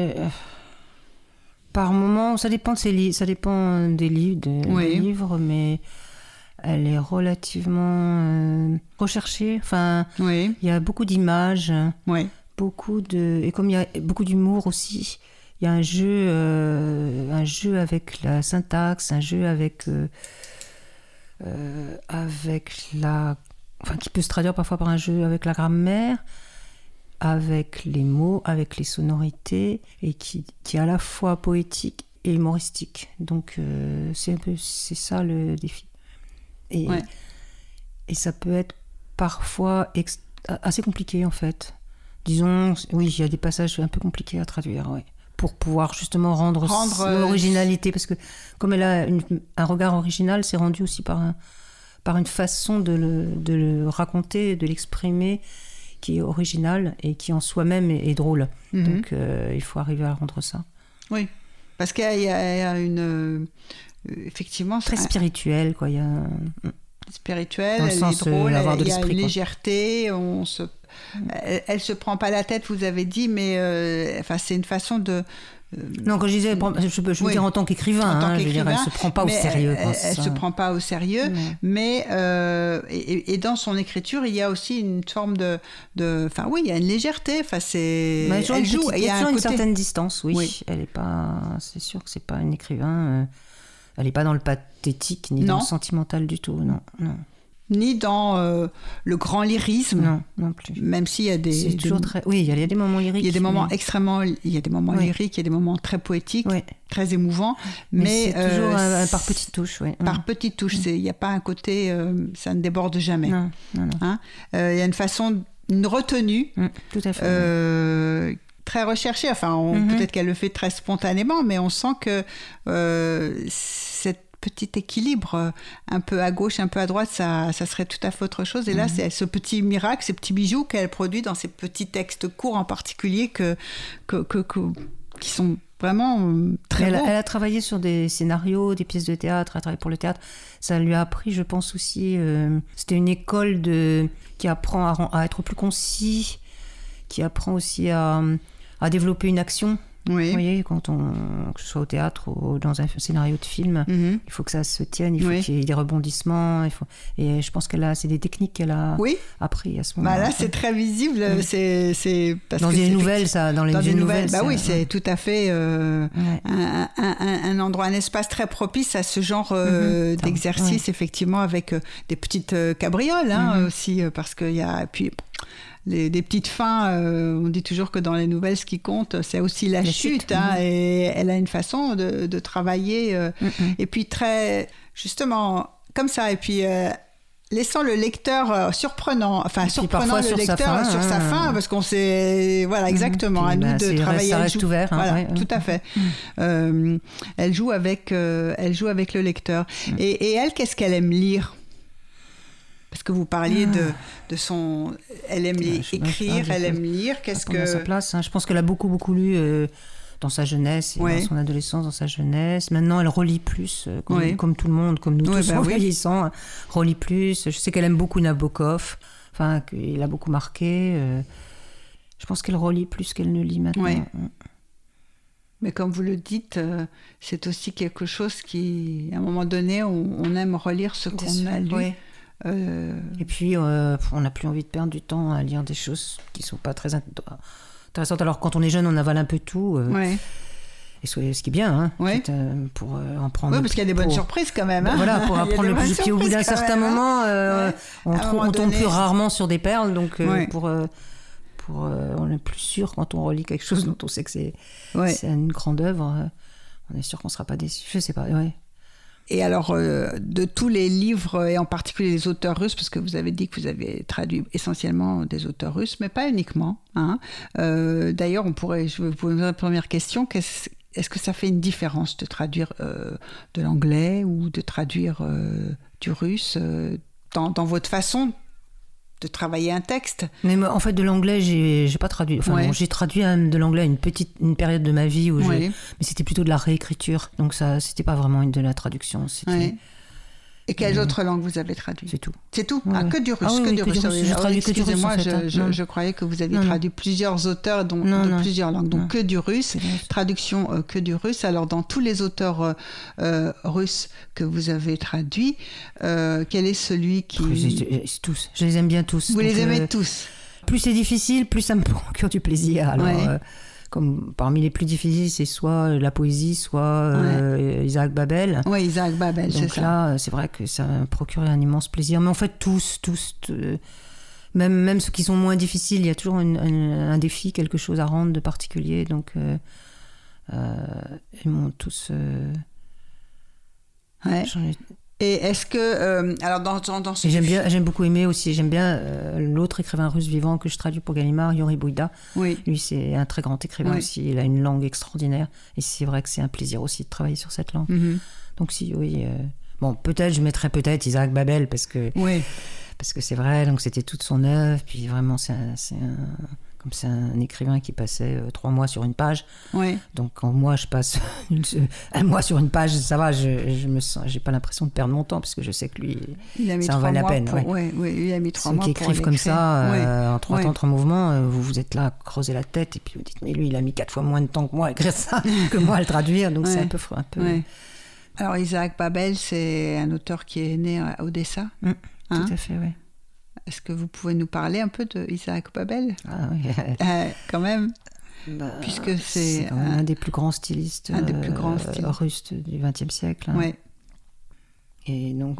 par moment, ça dépend des livres, mais... Elle est relativement recherchée. Enfin, il y a beaucoup d'images, et comme il y a beaucoup d'humour aussi, il y a un jeu avec la syntaxe, un jeu avec qui peut se traduire parfois par un jeu avec la grammaire, avec les mots, avec les sonorités, et qui est à la fois poétique et humoristique. Donc c'est ça le défi. Et ça peut être parfois assez compliqué en fait. Disons, oui, il y a des passages un peu compliqués à traduire, pour pouvoir justement rendre l'originalité, parce que comme elle a un regard original, c'est rendu aussi par une façon de le raconter, de l'exprimer, qui est originale et qui en soi-même est drôle. Donc il faut arriver à rendre ça. Oui, parce qu'il y a une... effectivement, très spirituel, quoi. Il y a spirituel, elle est drôle, il y a une légèreté, elle se prend pas la tête, vous avez dit, mais c'est une façon de... Non, quand je disais, je veux dire en tant qu'écrivain, je veux dire, elle se prend pas au sérieux. Elle se prend pas au sérieux, mais et dans son écriture, il y a aussi une forme de il y a une légèreté. Elle joue, il y a une certaine distance, Elle est pas, c'est sûr que c'est pas un écrivain. Elle n'est pas dans le pathétique, ni dans le sentimental du tout, non. Ni dans le grand lyrisme. Non plus. Même s'il y a des... C'est toujours très... Oui, il y a des moments lyriques. Il y a des moments extrêmement... Il y a des moments lyriques, il y a des moments très poétiques, très émouvants. Mais c'est toujours par petites touches, Par petites touches. Il n'y a pas un côté... ça ne déborde jamais. Non. Hein, il y a une retenue. Tout à fait. Très recherchée. Peut-être qu'elle le fait très spontanément, mais on sent que cette petit équilibre, un peu à gauche, un peu à droite, ça serait tout à fait autre chose. Et là, c'est ce petit miracle, ces petits bijoux qu'elle produit dans ces petits textes courts en particulier qui sont vraiment très beaux. Elle a travaillé sur des scénarios, des pièces de théâtre, elle a travaillé pour le théâtre. Ça lui a appris, je pense aussi, c'était une école qui apprend à être plus concis, qui apprend aussi à développer une action. Oui. Vous voyez, que ce soit au théâtre ou dans un scénario de film, il faut que ça se tienne, il faut qu'il y ait des rebondissements. Et je pense c'est des techniques qu'elle a appris à ce moment-là. Là, c'est très visible. C'est parce dans les nouvelles, ça. Dans les nouvelles. C'est tout à fait un endroit, un espace très propice à ce genre d'exercice, effectivement, avec des petites cabrioles aussi, parce qu'il y a... Puis, des petites fins, on dit toujours que dans les nouvelles, ce qui compte, c'est aussi la chute. Et elle a une façon de travailler, et puis très, justement, comme ça. Et puis, laissant le lecteur surprenant le lecteur sur sa fin, parce qu'on sait, exactement, à nous de travailler. Ça reste ouvert. Tout à fait. Elle joue avec le lecteur. Et elle, qu'est-ce qu'elle aime lire ? Parce que vous parliez de son... Elle aime écrire, elle aime lire. Qu'est-ce que... sa place, Je pense qu'elle a beaucoup, beaucoup lu dans sa jeunesse, et dans son adolescence, dans sa jeunesse. Maintenant, elle relit plus, comme tout le monde, comme nous tous, en vieillissant. Relit plus. Je sais qu'elle aime beaucoup Nabokov. enfin, qu'il a beaucoup marqué. Je pense qu'elle relit plus qu'elle ne lit maintenant. Oui. Mais comme vous le dites, c'est aussi quelque chose qui, à un moment donné, on aime relire ce qu'on a lu. Oui. Et puis, on n'a plus envie de perdre du temps à lire des choses qui ne sont pas très intéressantes. Alors, quand on est jeune, on avale un peu tout. Et ce qui est bien, pour en prendre. Oui, parce qu'il y a des bonnes surprises quand même. Voilà, pour apprendre le plus. Puis au bout d'un certain moment, on tombe plus rarement sur des perles. Donc, on est plus sûr quand on relit quelque chose dont on sait que c'est une grande œuvre. On est sûr qu'on ne sera pas déçu. Je ne sais pas, Et alors, de tous les livres, et en particulier les auteurs russes, parce que vous avez dit que vous avez traduit essentiellement des auteurs russes, mais pas uniquement. D'ailleurs, je vais vous poser la première question. Est-ce que ça fait une différence de traduire de l'anglais ou de traduire du russe dans votre façon de travailler un texte? Mais en fait, de l'anglais, j'ai pas traduit. Enfin, j'ai traduit de l'anglais à une période de ma vie mais c'était plutôt de la réécriture. Donc ça, c'était pas vraiment de la traduction. Et quelles autres langues vous avez traduit? C'est tout. C'est tout? Que du russe, que du russe. Je traduis que du russe. Excusez-moi, je croyais que vous aviez traduit plusieurs auteurs de plusieurs langues. Donc que du russe, traduction que du russe. Alors dans tous les auteurs russes que vous avez traduits, quel est celui qui... Tous. Je les aime bien tous. Vous les aimez tous? Plus c'est difficile, plus ça me procure du plaisir. Alors, comme parmi les plus difficiles, c'est soit la poésie, soit Isaac Babel. Oui, Isaac Babel, c'est ça. Donc là, c'est vrai que ça m'a procuré un immense plaisir. Mais en fait, tous, même ceux qui sont moins difficiles, il y a toujours un défi, quelque chose à rendre de particulier. Donc, ils m'ont tous... Et est-ce que alors dans ce j'aime beaucoup aimer aussi, j'aime bien l'autre écrivain russe vivant que je traduis pour Gallimard, Yuri Bouïda. Lui, c'est un très grand écrivain aussi, il a une langue extraordinaire et c'est vrai que c'est un plaisir aussi de travailler sur cette langue. Donc bon, peut-être je mettrais Isaac Babel parce que c'est vrai, donc c'était toute son œuvre, puis vraiment c'est un écrivain qui passait 3 mois sur une page. Donc quand moi je passe un mois sur une page, ça va, j'ai pas l'impression de perdre mon temps parce que je sais que lui, ça en valait la peine. Il a mis 3 mois qui écrivent comme ça, en 3 temps, 3 mouvements, vous êtes là à creuser la tête et puis vous dites mais lui il a mis 4 fois moins de temps que moi à écrire ça que moi à le traduire, donc c'est un peu. Alors Isaac Babel, c'est un auteur qui est né à Odessa. Tout à fait, oui. Est-ce que vous pouvez nous parler un peu de Isaac Babel? Quand même, puisque c'est quand même un des plus grands stylistes russes du XXe siècle. Et donc,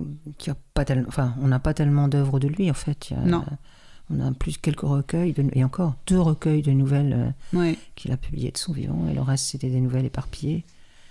on n'a pas tellement d'œuvres de lui en fait. On a plus quelques recueils, et encore 2 recueils de nouvelles qu'il a publiées de son vivant, et le reste c'était des nouvelles éparpillées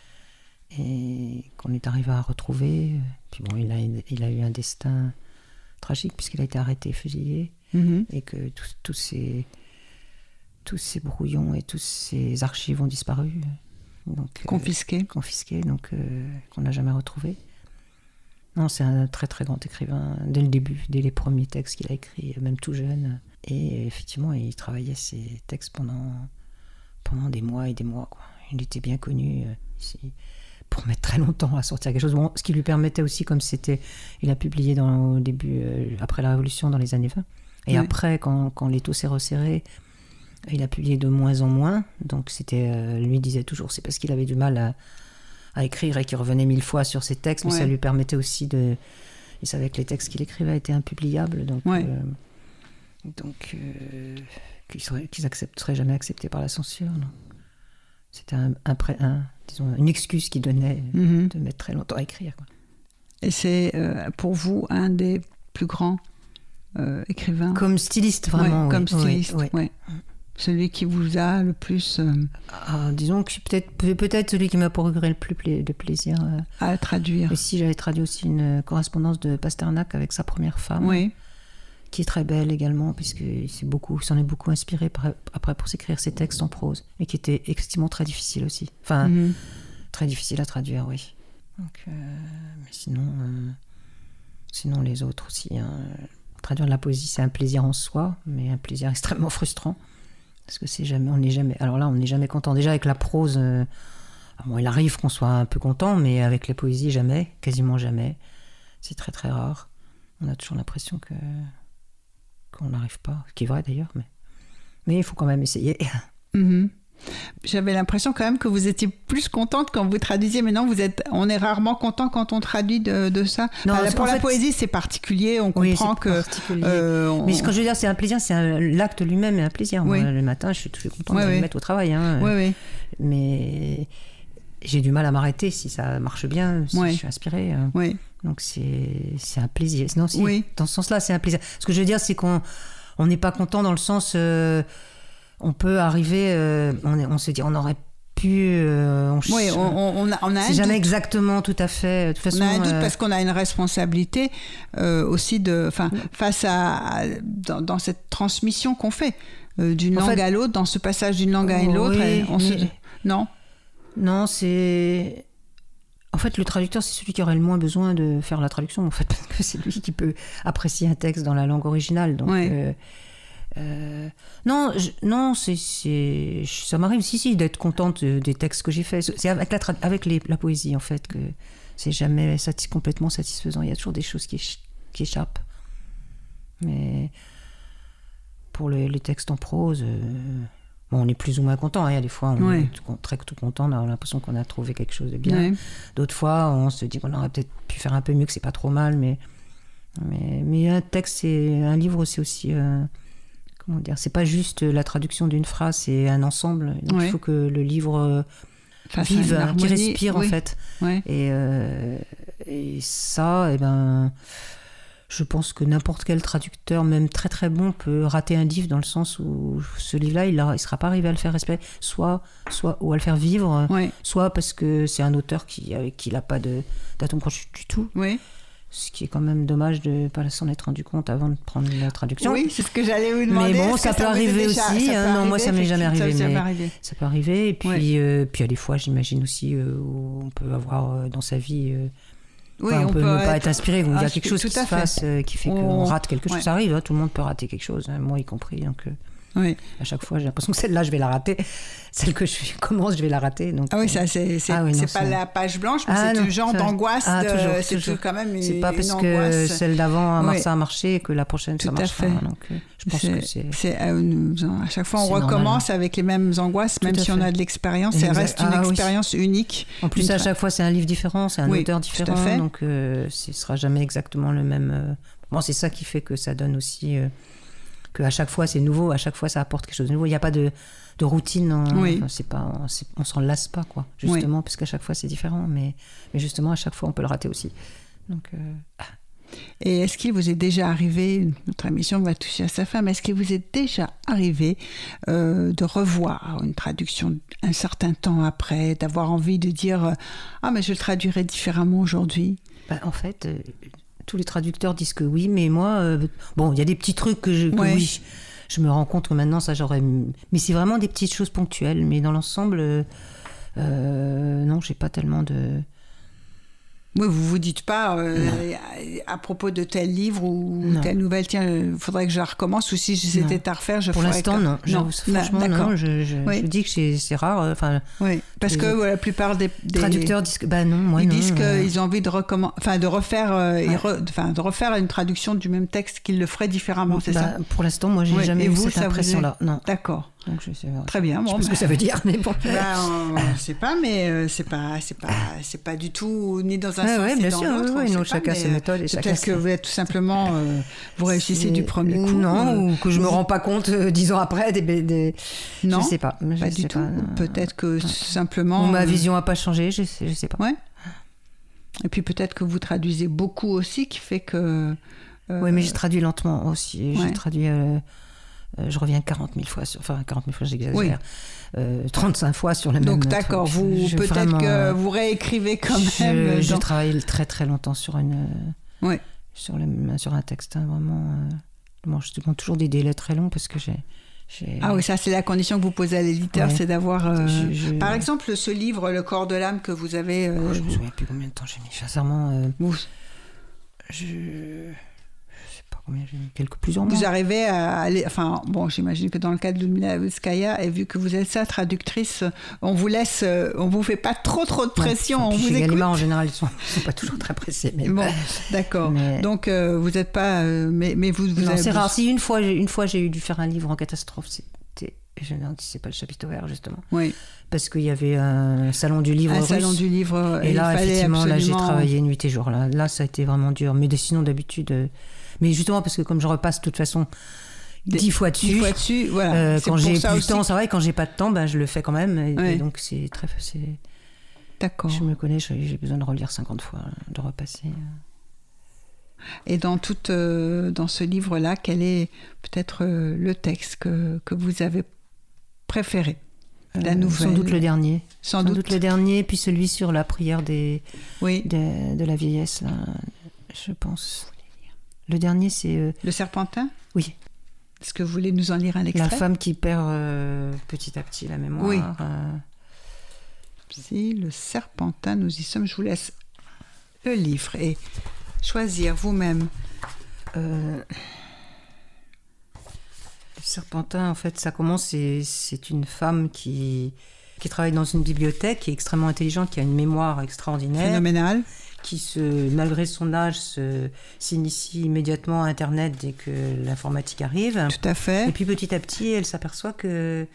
et qu'on est arrivé à retrouver. Puis bon, il a eu un destin tragique puisqu'il a été arrêté et fusillé, et que tous ces brouillons et tous ces archives ont disparu, donc confisqués, donc qu'on n'a jamais retrouvé. Non, c'est un très très grand écrivain dès le début, dès les premiers textes qu'il a écrits, même tout jeune, et effectivement il travaillait ses textes pendant des mois et des mois, quoi. Il était bien connu pour mettre très longtemps à sortir quelque chose. Bon, ce qui lui permettait aussi, comme il a publié au début, après la Révolution, dans les années 20. Et après, quand l'étau s'est resserré, il a publié de moins en moins. Donc lui disait toujours, c'est parce qu'il avait du mal à écrire et qu'il revenait 1000 fois sur ses textes, mais ça lui permettait aussi il savait que les textes qu'il écrivait étaient impubliables, donc qu'ils seraient jamais acceptés par la censure. Non. C'était une excuse qu'il donnait de mettre très longtemps à écrire, quoi. Et c'est pour vous un des plus grands écrivains? Comme styliste, vraiment. Comme styliste, Celui qui vous a le plus... disons que peut-être celui qui m'a procuré le plus de plaisir à traduire. Et si j'avais traduit aussi une correspondance de Pasternak avec sa première femme, qui est très belle également, puisqu'il s'en est beaucoup inspiré après pour s'écrire ses textes en prose, et qui était effectivement très difficile aussi. Enfin, très difficile à traduire, oui. Donc, mais sinon les autres aussi. Traduire de la poésie, c'est un plaisir en soi, mais un plaisir extrêmement frustrant, parce que on n'est jamais content. Déjà avec la prose, il arrive qu'on soit un peu content, mais avec les poésies, quasiment jamais. C'est très très rare. On a toujours l'impression que qu'on n'arrive pas, ce qui est vrai d'ailleurs, mais il faut quand même essayer. Mm-hmm. J'avais l'impression quand même que vous étiez plus contente quand vous traduisiez. Maintenant, on est rarement content quand on traduit de ça. Non, pour la poésie, c'est particulier. On comprend que. Mais ce que je veux dire, c'est un plaisir. L'acte lui-même est un plaisir. Oui. Moi, le matin, je suis toujours contente de me mettre au travail. Hein. Oui. Mais j'ai du mal à m'arrêter si ça marche bien, si je suis inspirée. Oui. Donc c'est un plaisir. Non, dans ce sens-là, c'est un plaisir. Ce que je veux dire, c'est qu'on n'est pas content dans le sens. On peut arriver, on se dit, on aurait pu. On a c'est jamais exactement tout à fait. De toute façon, on a un doute parce qu'on a une responsabilité aussi face à dans cette transmission qu'on fait d'une langue à l'autre, dans ce passage d'une langue à l'autre. Non, c'est. En fait, le traducteur, c'est celui qui aurait le moins besoin de faire la traduction, en fait, parce que c'est lui qui peut apprécier un texte dans la langue originale. Donc. Non, ça m'arrive d'être contente des textes que j'ai faits. C'est avec la poésie en fait que c'est jamais complètement satisfaisant. Il y a toujours des choses qui échappent. Mais pour les textes en prose, on est plus ou moins content. Il y a des fois on est tout content, on a l'impression qu'on a trouvé quelque chose de bien. D'autres fois, on se dit qu'on aurait peut-être pu faire un peu mieux, que c'est pas trop mal. Mais un texte, un livre, c'est aussi comment dire, c'est pas juste la traduction d'une phrase, c'est un ensemble. Donc il faut que le livre vive, qu'il respire en fait. Et ça, je pense que n'importe quel traducteur, même très très bon, peut rater un livre dans le sens où ce livre-là, il sera pas arrivé à le faire respirer, soit ou à le faire vivre, soit parce que c'est un auteur qui n'a pas d'atome crochu du tout. Ce qui est quand même dommage de ne pas s'en être rendu compte avant de prendre la traduction. Oui, c'est ce que j'allais vous demander. Mais bon, ça peut arriver aussi. Non, moi, ça ne m'est jamais arrivé. Ça peut arriver. Et puis, puis il y a des fois, j'imagine aussi, où on peut avoir dans sa vie... on peut ne pas être inspiré. Il y a quelque chose qui se passe qui fait qu'on rate quelque chose. Ça arrive, tout le monde peut rater quelque chose, moi y compris. Donc, à chaque fois, j'ai l'impression que celle-là, je vais la rater. Celle que je commence, je vais la rater. Donc, ça, c'est pas la page blanche, mais c'est un genre d'angoisse. C'est quand même c'est pas parce que celle d'avant ça a marché que la prochaine, ça marchera. Donc, je pense que c'est... à chaque fois, on recommence avec les mêmes angoisses, même si on a de l'expérience. Ça reste une expérience unique. En plus, à chaque fois, c'est un livre différent, c'est un auteur différent. Donc, ce sera jamais exactement le même... c'est ça qui fait que ça donne aussi... qu'à chaque fois c'est nouveau, à chaque fois ça apporte quelque chose de nouveau. Il n'y a pas de routine, on s'en lasse pas, quoi, justement, parce qu'à chaque fois c'est différent, mais justement à chaque fois on peut le rater aussi. Donc, Et est-ce qu'il vous est déjà arrivé, notre émission va toucher à sa fin, mais est-ce qu'il vous est déjà arrivé de revoir une traduction un certain temps après, d'avoir envie de dire « Ah, mais je le traduirais différemment aujourd'hui » En fait... tous les traducteurs disent que oui, mais moi, il y a des petits trucs que oui, je me rends compte que maintenant, ça j'aurais... Mais c'est vraiment des petites choses ponctuelles, mais dans l'ensemble, non, j'ai pas tellement de... Oui, vous vous dites pas à propos de tel livre ou telle nouvelle, tiens, il faudrait que je la recommence, ou si c'était à refaire, je ferais... Pour l'instant, non. Franchement, non. Je dis que c'est rare. Parce que la plupart des traducteurs disent que ils disent qu'ils ont envie de de refaire une traduction du même texte qu'ils le feraient différemment, c'est ça? Pour l'instant, moi, j'ai jamais eu cette impression-là. Non. D'accord. Donc, je sais pas. Très bien. Je sais pas ce que ça veut dire, mais bon. Je sais pas, mais c'est pas du tout ni dans un sens ni dans l'autre. Chacun ses méthodes. Peut-être que vous êtes tout simplement vous réussissez du premier coup. Non, ou que je me rends pas compte 10 ans après non, je sais pas. Pas du tout. Peut-être que simplement. Ou ma vision a pas changé. Je sais pas. Ouais. Et puis peut-être que vous traduisez beaucoup aussi, qui fait que. Oui, mais je traduis lentement aussi. Je traduis. Je reviens 40 000 fois sur... Enfin, 40 000 fois, j'exagère. 35 fois sur le même... Donc, d'accord. Peut-être que vous réécrivez quand même... Je travaille très, très longtemps sur sur un texte. Vraiment. Je demande toujours des délais très longs parce que j'ai... Ah oui, ça, c'est la condition que vous posez à l'éditeur, c'est d'avoir... Par exemple, ce livre, Le corps de l'âme, que vous avez... je me souviens plus combien de temps j'ai mis. Sincèrement... Je sais pas. combien j'ai mis, plusieurs mois. Vous arrivez à aller, enfin bon, j'imagine que dans le cas de Ludmila Ulitskaya, et vu que vous êtes sa traductrice, on vous laisse, on vous fait pas trop de pression, on vous écoute. Gallimard en général, ils sont pas toujours très pressés. Mais bon, d'accord. Donc vous n'êtes pas, mais vous non, avez... c'est rare. Si une fois j'ai eu dû faire un livre en catastrophe, je ne sais pas le chapitre ouvert justement. Oui. Parce qu'il y avait un salon du livre russe. Salon du livre. Et là, effectivement, absolument... là, j'ai travaillé nuit et jour. Là, ça a été vraiment dur. Mais sinon, d'habitude... Mais justement, parce que comme je repasse de toute façon 10 fois dessus... 10 fois dessus, voilà. Quand j'ai plus de temps, c'est vrai, quand j'ai pas de temps, je le fais quand même. Et donc, c'est très... D'accord. Je me connais, j'ai besoin de relire 50 fois, de repasser... Et dans ce livre-là, quel est peut-être le texte que vous avez préféré? La nouvelle. Sans doute le dernier. Sans doute le dernier, puis celui sur la prière de la vieillesse, là, je pense. Le dernier, c'est... Le Serpentin? Oui. Est-ce que vous voulez nous en lire un extrait? La femme qui perd petit à petit la mémoire. Oui. Si, le Serpentin, nous y sommes. Je vous laisse le livre et choisir vous-même. Le Serpentin, en fait, ça commence, c'est une femme qui travaille dans une bibliothèque, qui est extrêmement intelligente, qui a une mémoire extraordinaire. Phénoménale. Qui, malgré son âge, s'initie immédiatement à Internet dès que l'informatique arrive. Tout à fait. Et puis petit à petit, elle s'aperçoit que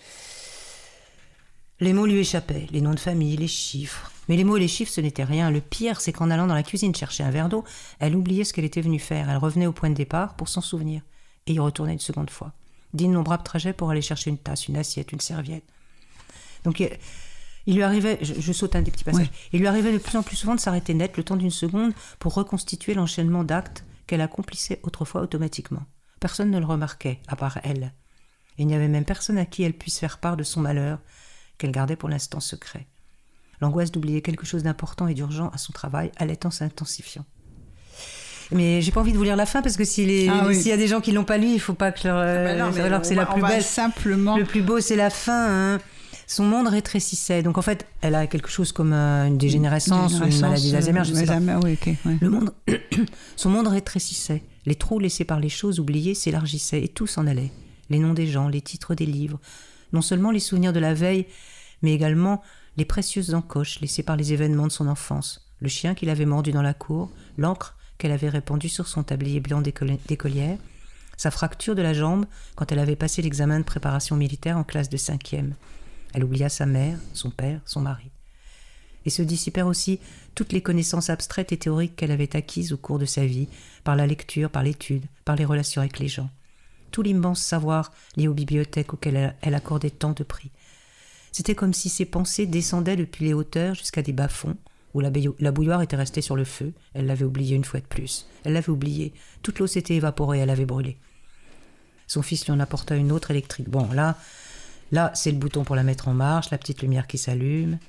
les mots lui échappaient, les noms de famille, les chiffres. Mais les mots et les chiffres, ce n'était rien. Le pire, c'est qu'en allant dans la cuisine chercher un verre d'eau, elle oubliait ce qu'elle était venue faire. Elle revenait au point de départ pour s'en souvenir et y retournait une seconde fois. D'innombrables trajets pour aller chercher une tasse, une assiette, une serviette. Donc il lui arrivait, je saute un des petits passages, il lui arrivait de plus en plus souvent de s'arrêter net le temps d'une seconde pour reconstituer l'enchaînement d'actes qu'elle accomplissait autrefois automatiquement. Personne ne le remarquait, à part elle. Et il n'y avait même personne à qui elle puisse faire part de son malheur, qu'elle gardait pour l'instant secret. L'angoisse d'oublier quelque chose d'important et d'urgent à son travail allait en s'intensifiant. Mais j'ai pas envie de vous lire la fin parce que s'il y a des gens qui l'ont pas lu, il faut pas que alors que c'est la plus belle. Simplement. Le plus beau, c'est la fin. Hein. Son monde rétrécissait. Donc en fait, elle a quelque chose comme une dégénérescence ou une maladie d'Alzheimer, je sais pas. Son monde rétrécissait. Les trous laissés par les choses oubliées s'élargissaient et tout s'en allait. Les noms des gens, les titres des livres, non seulement les souvenirs de la veille, mais également les précieuses encoches laissées par les événements de son enfance. Le chien qu'il avait mordu dans la cour, l'encre qu'elle avait répandue sur son tablier blanc d'écolière, sa fracture de la jambe quand elle avait passé l'examen de préparation militaire en classe de 5e. Elle oublia sa mère, son père, son mari. Et se dissipèrent aussi toutes les connaissances abstraites et théoriques qu'elle avait acquises au cours de sa vie, par la lecture, par l'étude, par les relations avec les gens. Tout l'immense savoir lié aux bibliothèques auxquelles elle accordait tant de prix. C'était comme si ses pensées descendaient depuis les hauteurs jusqu'à des bas-fonds, où la bouilloire était restée sur le feu. Elle l'avait oublié une fois de plus. Elle l'avait oublié. Toute l'eau s'était évaporée, elle avait brûlé. Son fils lui en apporta une autre électrique. Bon, là, c'est le bouton pour la mettre en marche, la petite lumière qui s'allume.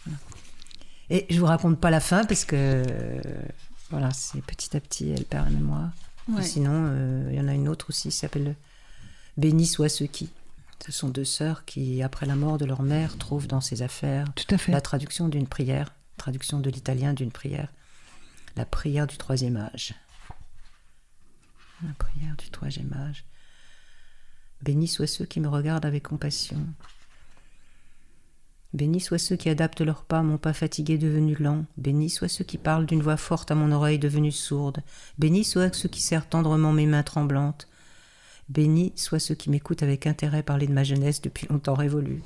Et je vous raconte pas la fin parce que voilà, c'est petit à petit, elle perd la mémoire. Ouais. Sinon, il y en a une autre aussi, qui s'appelle Béni soient ceux qui. Ce sont deux sœurs qui, après la mort de leur mère, trouvent dans ses affaires la traduction d'une prière, traduction de l'italien d'une prière, la prière du troisième âge. La prière du troisième âge. Bénis soient ceux qui me regardent avec compassion. Bénis soient ceux qui adaptent leurs pas à mon pas fatigué devenu lent. Bénis soient ceux qui parlent d'une voix forte à mon oreille devenue sourde. Bénis soient ceux qui serrent tendrement mes mains tremblantes. Bénis soient ceux qui m'écoutent avec intérêt parler de ma jeunesse depuis longtemps révolue.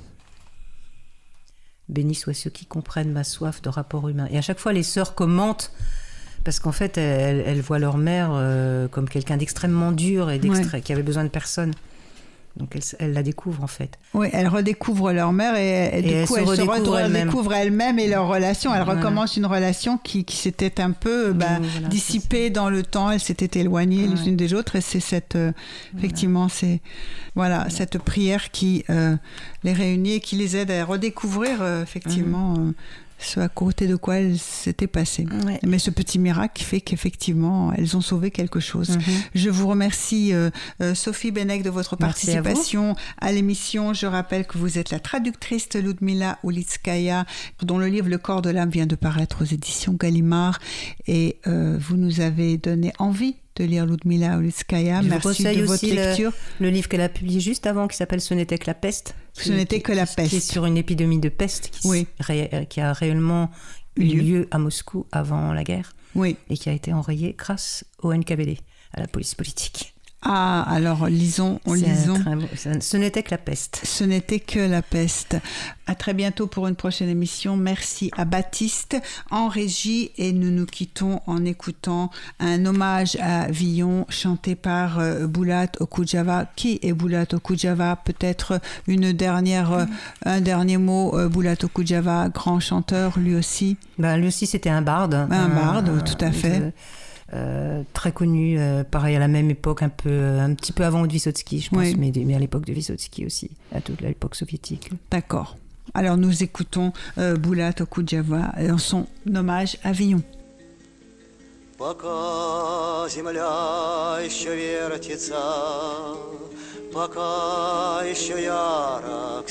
Bénis soient ceux qui comprennent ma soif de rapport humain. Et à chaque fois, les sœurs commentent, parce qu'en fait, elles voient leur mère comme quelqu'un d'extrêmement dur et qui avait besoin de personne. Donc elles la découvrent en fait. Oui, elles redécouvrent leur mère et du coup elles se redécouvrent elles-mêmes et leur relation. Elles recommencent une relation qui s'était un peu dissipée dans le temps. Elles s'étaient éloignées les unes des autres et c'est effectivement cette prière qui les réunit et qui les aide à redécouvrir effectivement ce à côté de quoi elles s'étaient passées. Ouais. Mais ce petit miracle qui fait qu'effectivement, elles ont sauvé quelque chose. Je vous remercie, Sophie Benech, de votre participation à l'émission. Je rappelle que vous êtes la traductrice Ludmila Ulitskaya, dont le livre Le corps de l'âme vient de paraître aux éditions Gallimard. Et vous nous avez donné envie de lire Ludmila Ulitskaya. Je Merci de votre lecture. Le livre qu'elle a publié juste avant, qui s'appelle Ce n'était que la peste. Ce n'était que la peste. Qui est sur une épidémie de peste qui a réellement eu lieu à Moscou avant la guerre. Oui. Et qui a été enrayée grâce au NKVD, à la police politique. Ah, alors lisons. Ce n'était que la peste. Ce n'était que la peste. À très bientôt pour une prochaine émission. Merci à Baptiste en régie et nous nous quittons en écoutant un hommage à Villon chanté par Bulat Okudjava. Qui est Bulat Okudjava? Peut-être un dernier mot. Bulat Okudjava, grand chanteur lui aussi. Lui aussi c'était un barde. Un barde, tout à fait. Très connu, pareil à la même époque, un petit peu avant de Vysotsky, je pense, mais à l'époque de Vysotsky aussi, à toute l'époque soviétique. D'accord. Alors nous écoutons Bulat Okudjava en son hommage à Villon. Пока земля еще вертится, пока еще ярок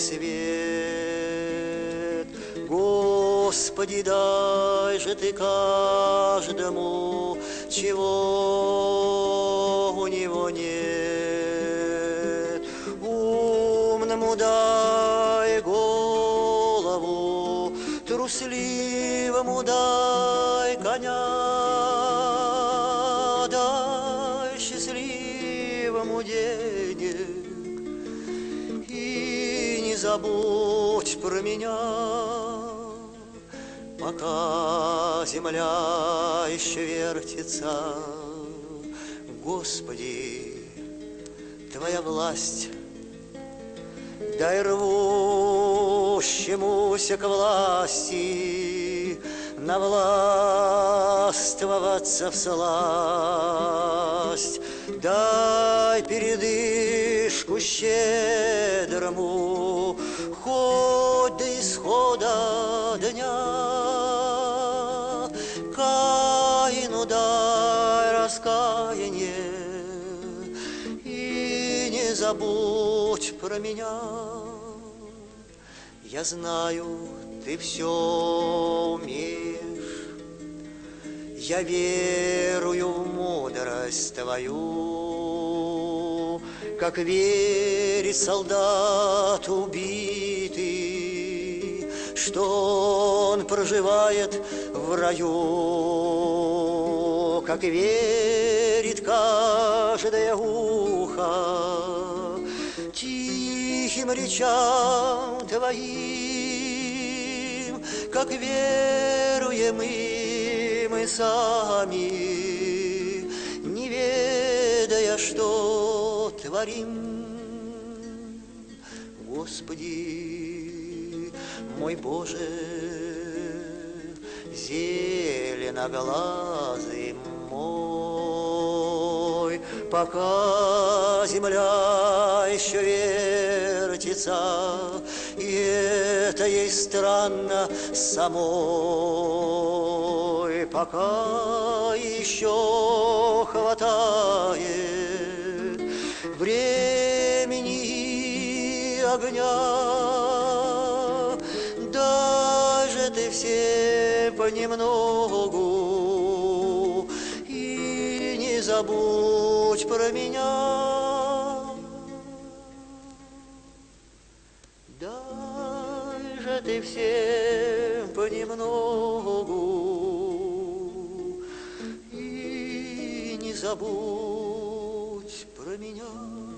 свет, Господи, дай же ты каждому, чего у него нет. Умному дай голову, трусливому дай коня, дай счастливому денег и не забудь про меня. Пока земля еще вертится, Господи, Твоя власть, дай рвущемуся к власти навластвоваться всласть, дай передышку щедрому, хоть до исхода дня. Каину дай раскаяние и не забудь про меня. Я знаю, ты все умеешь, я верую в мудрость твою, как верит солдат убитый, что он проживает в раю, как верит каждое ухо тихим речам твоим, как веруем и мы сами, не ведая, что творим. Господи, мой Боже, зеленоглазый мой, пока земля еще вертится, и это ей странно самой, пока еще хватает времени и огня, даже ты все понемногу и не забудь про меня. Дай же ты всем понемногу и не забудь про меня.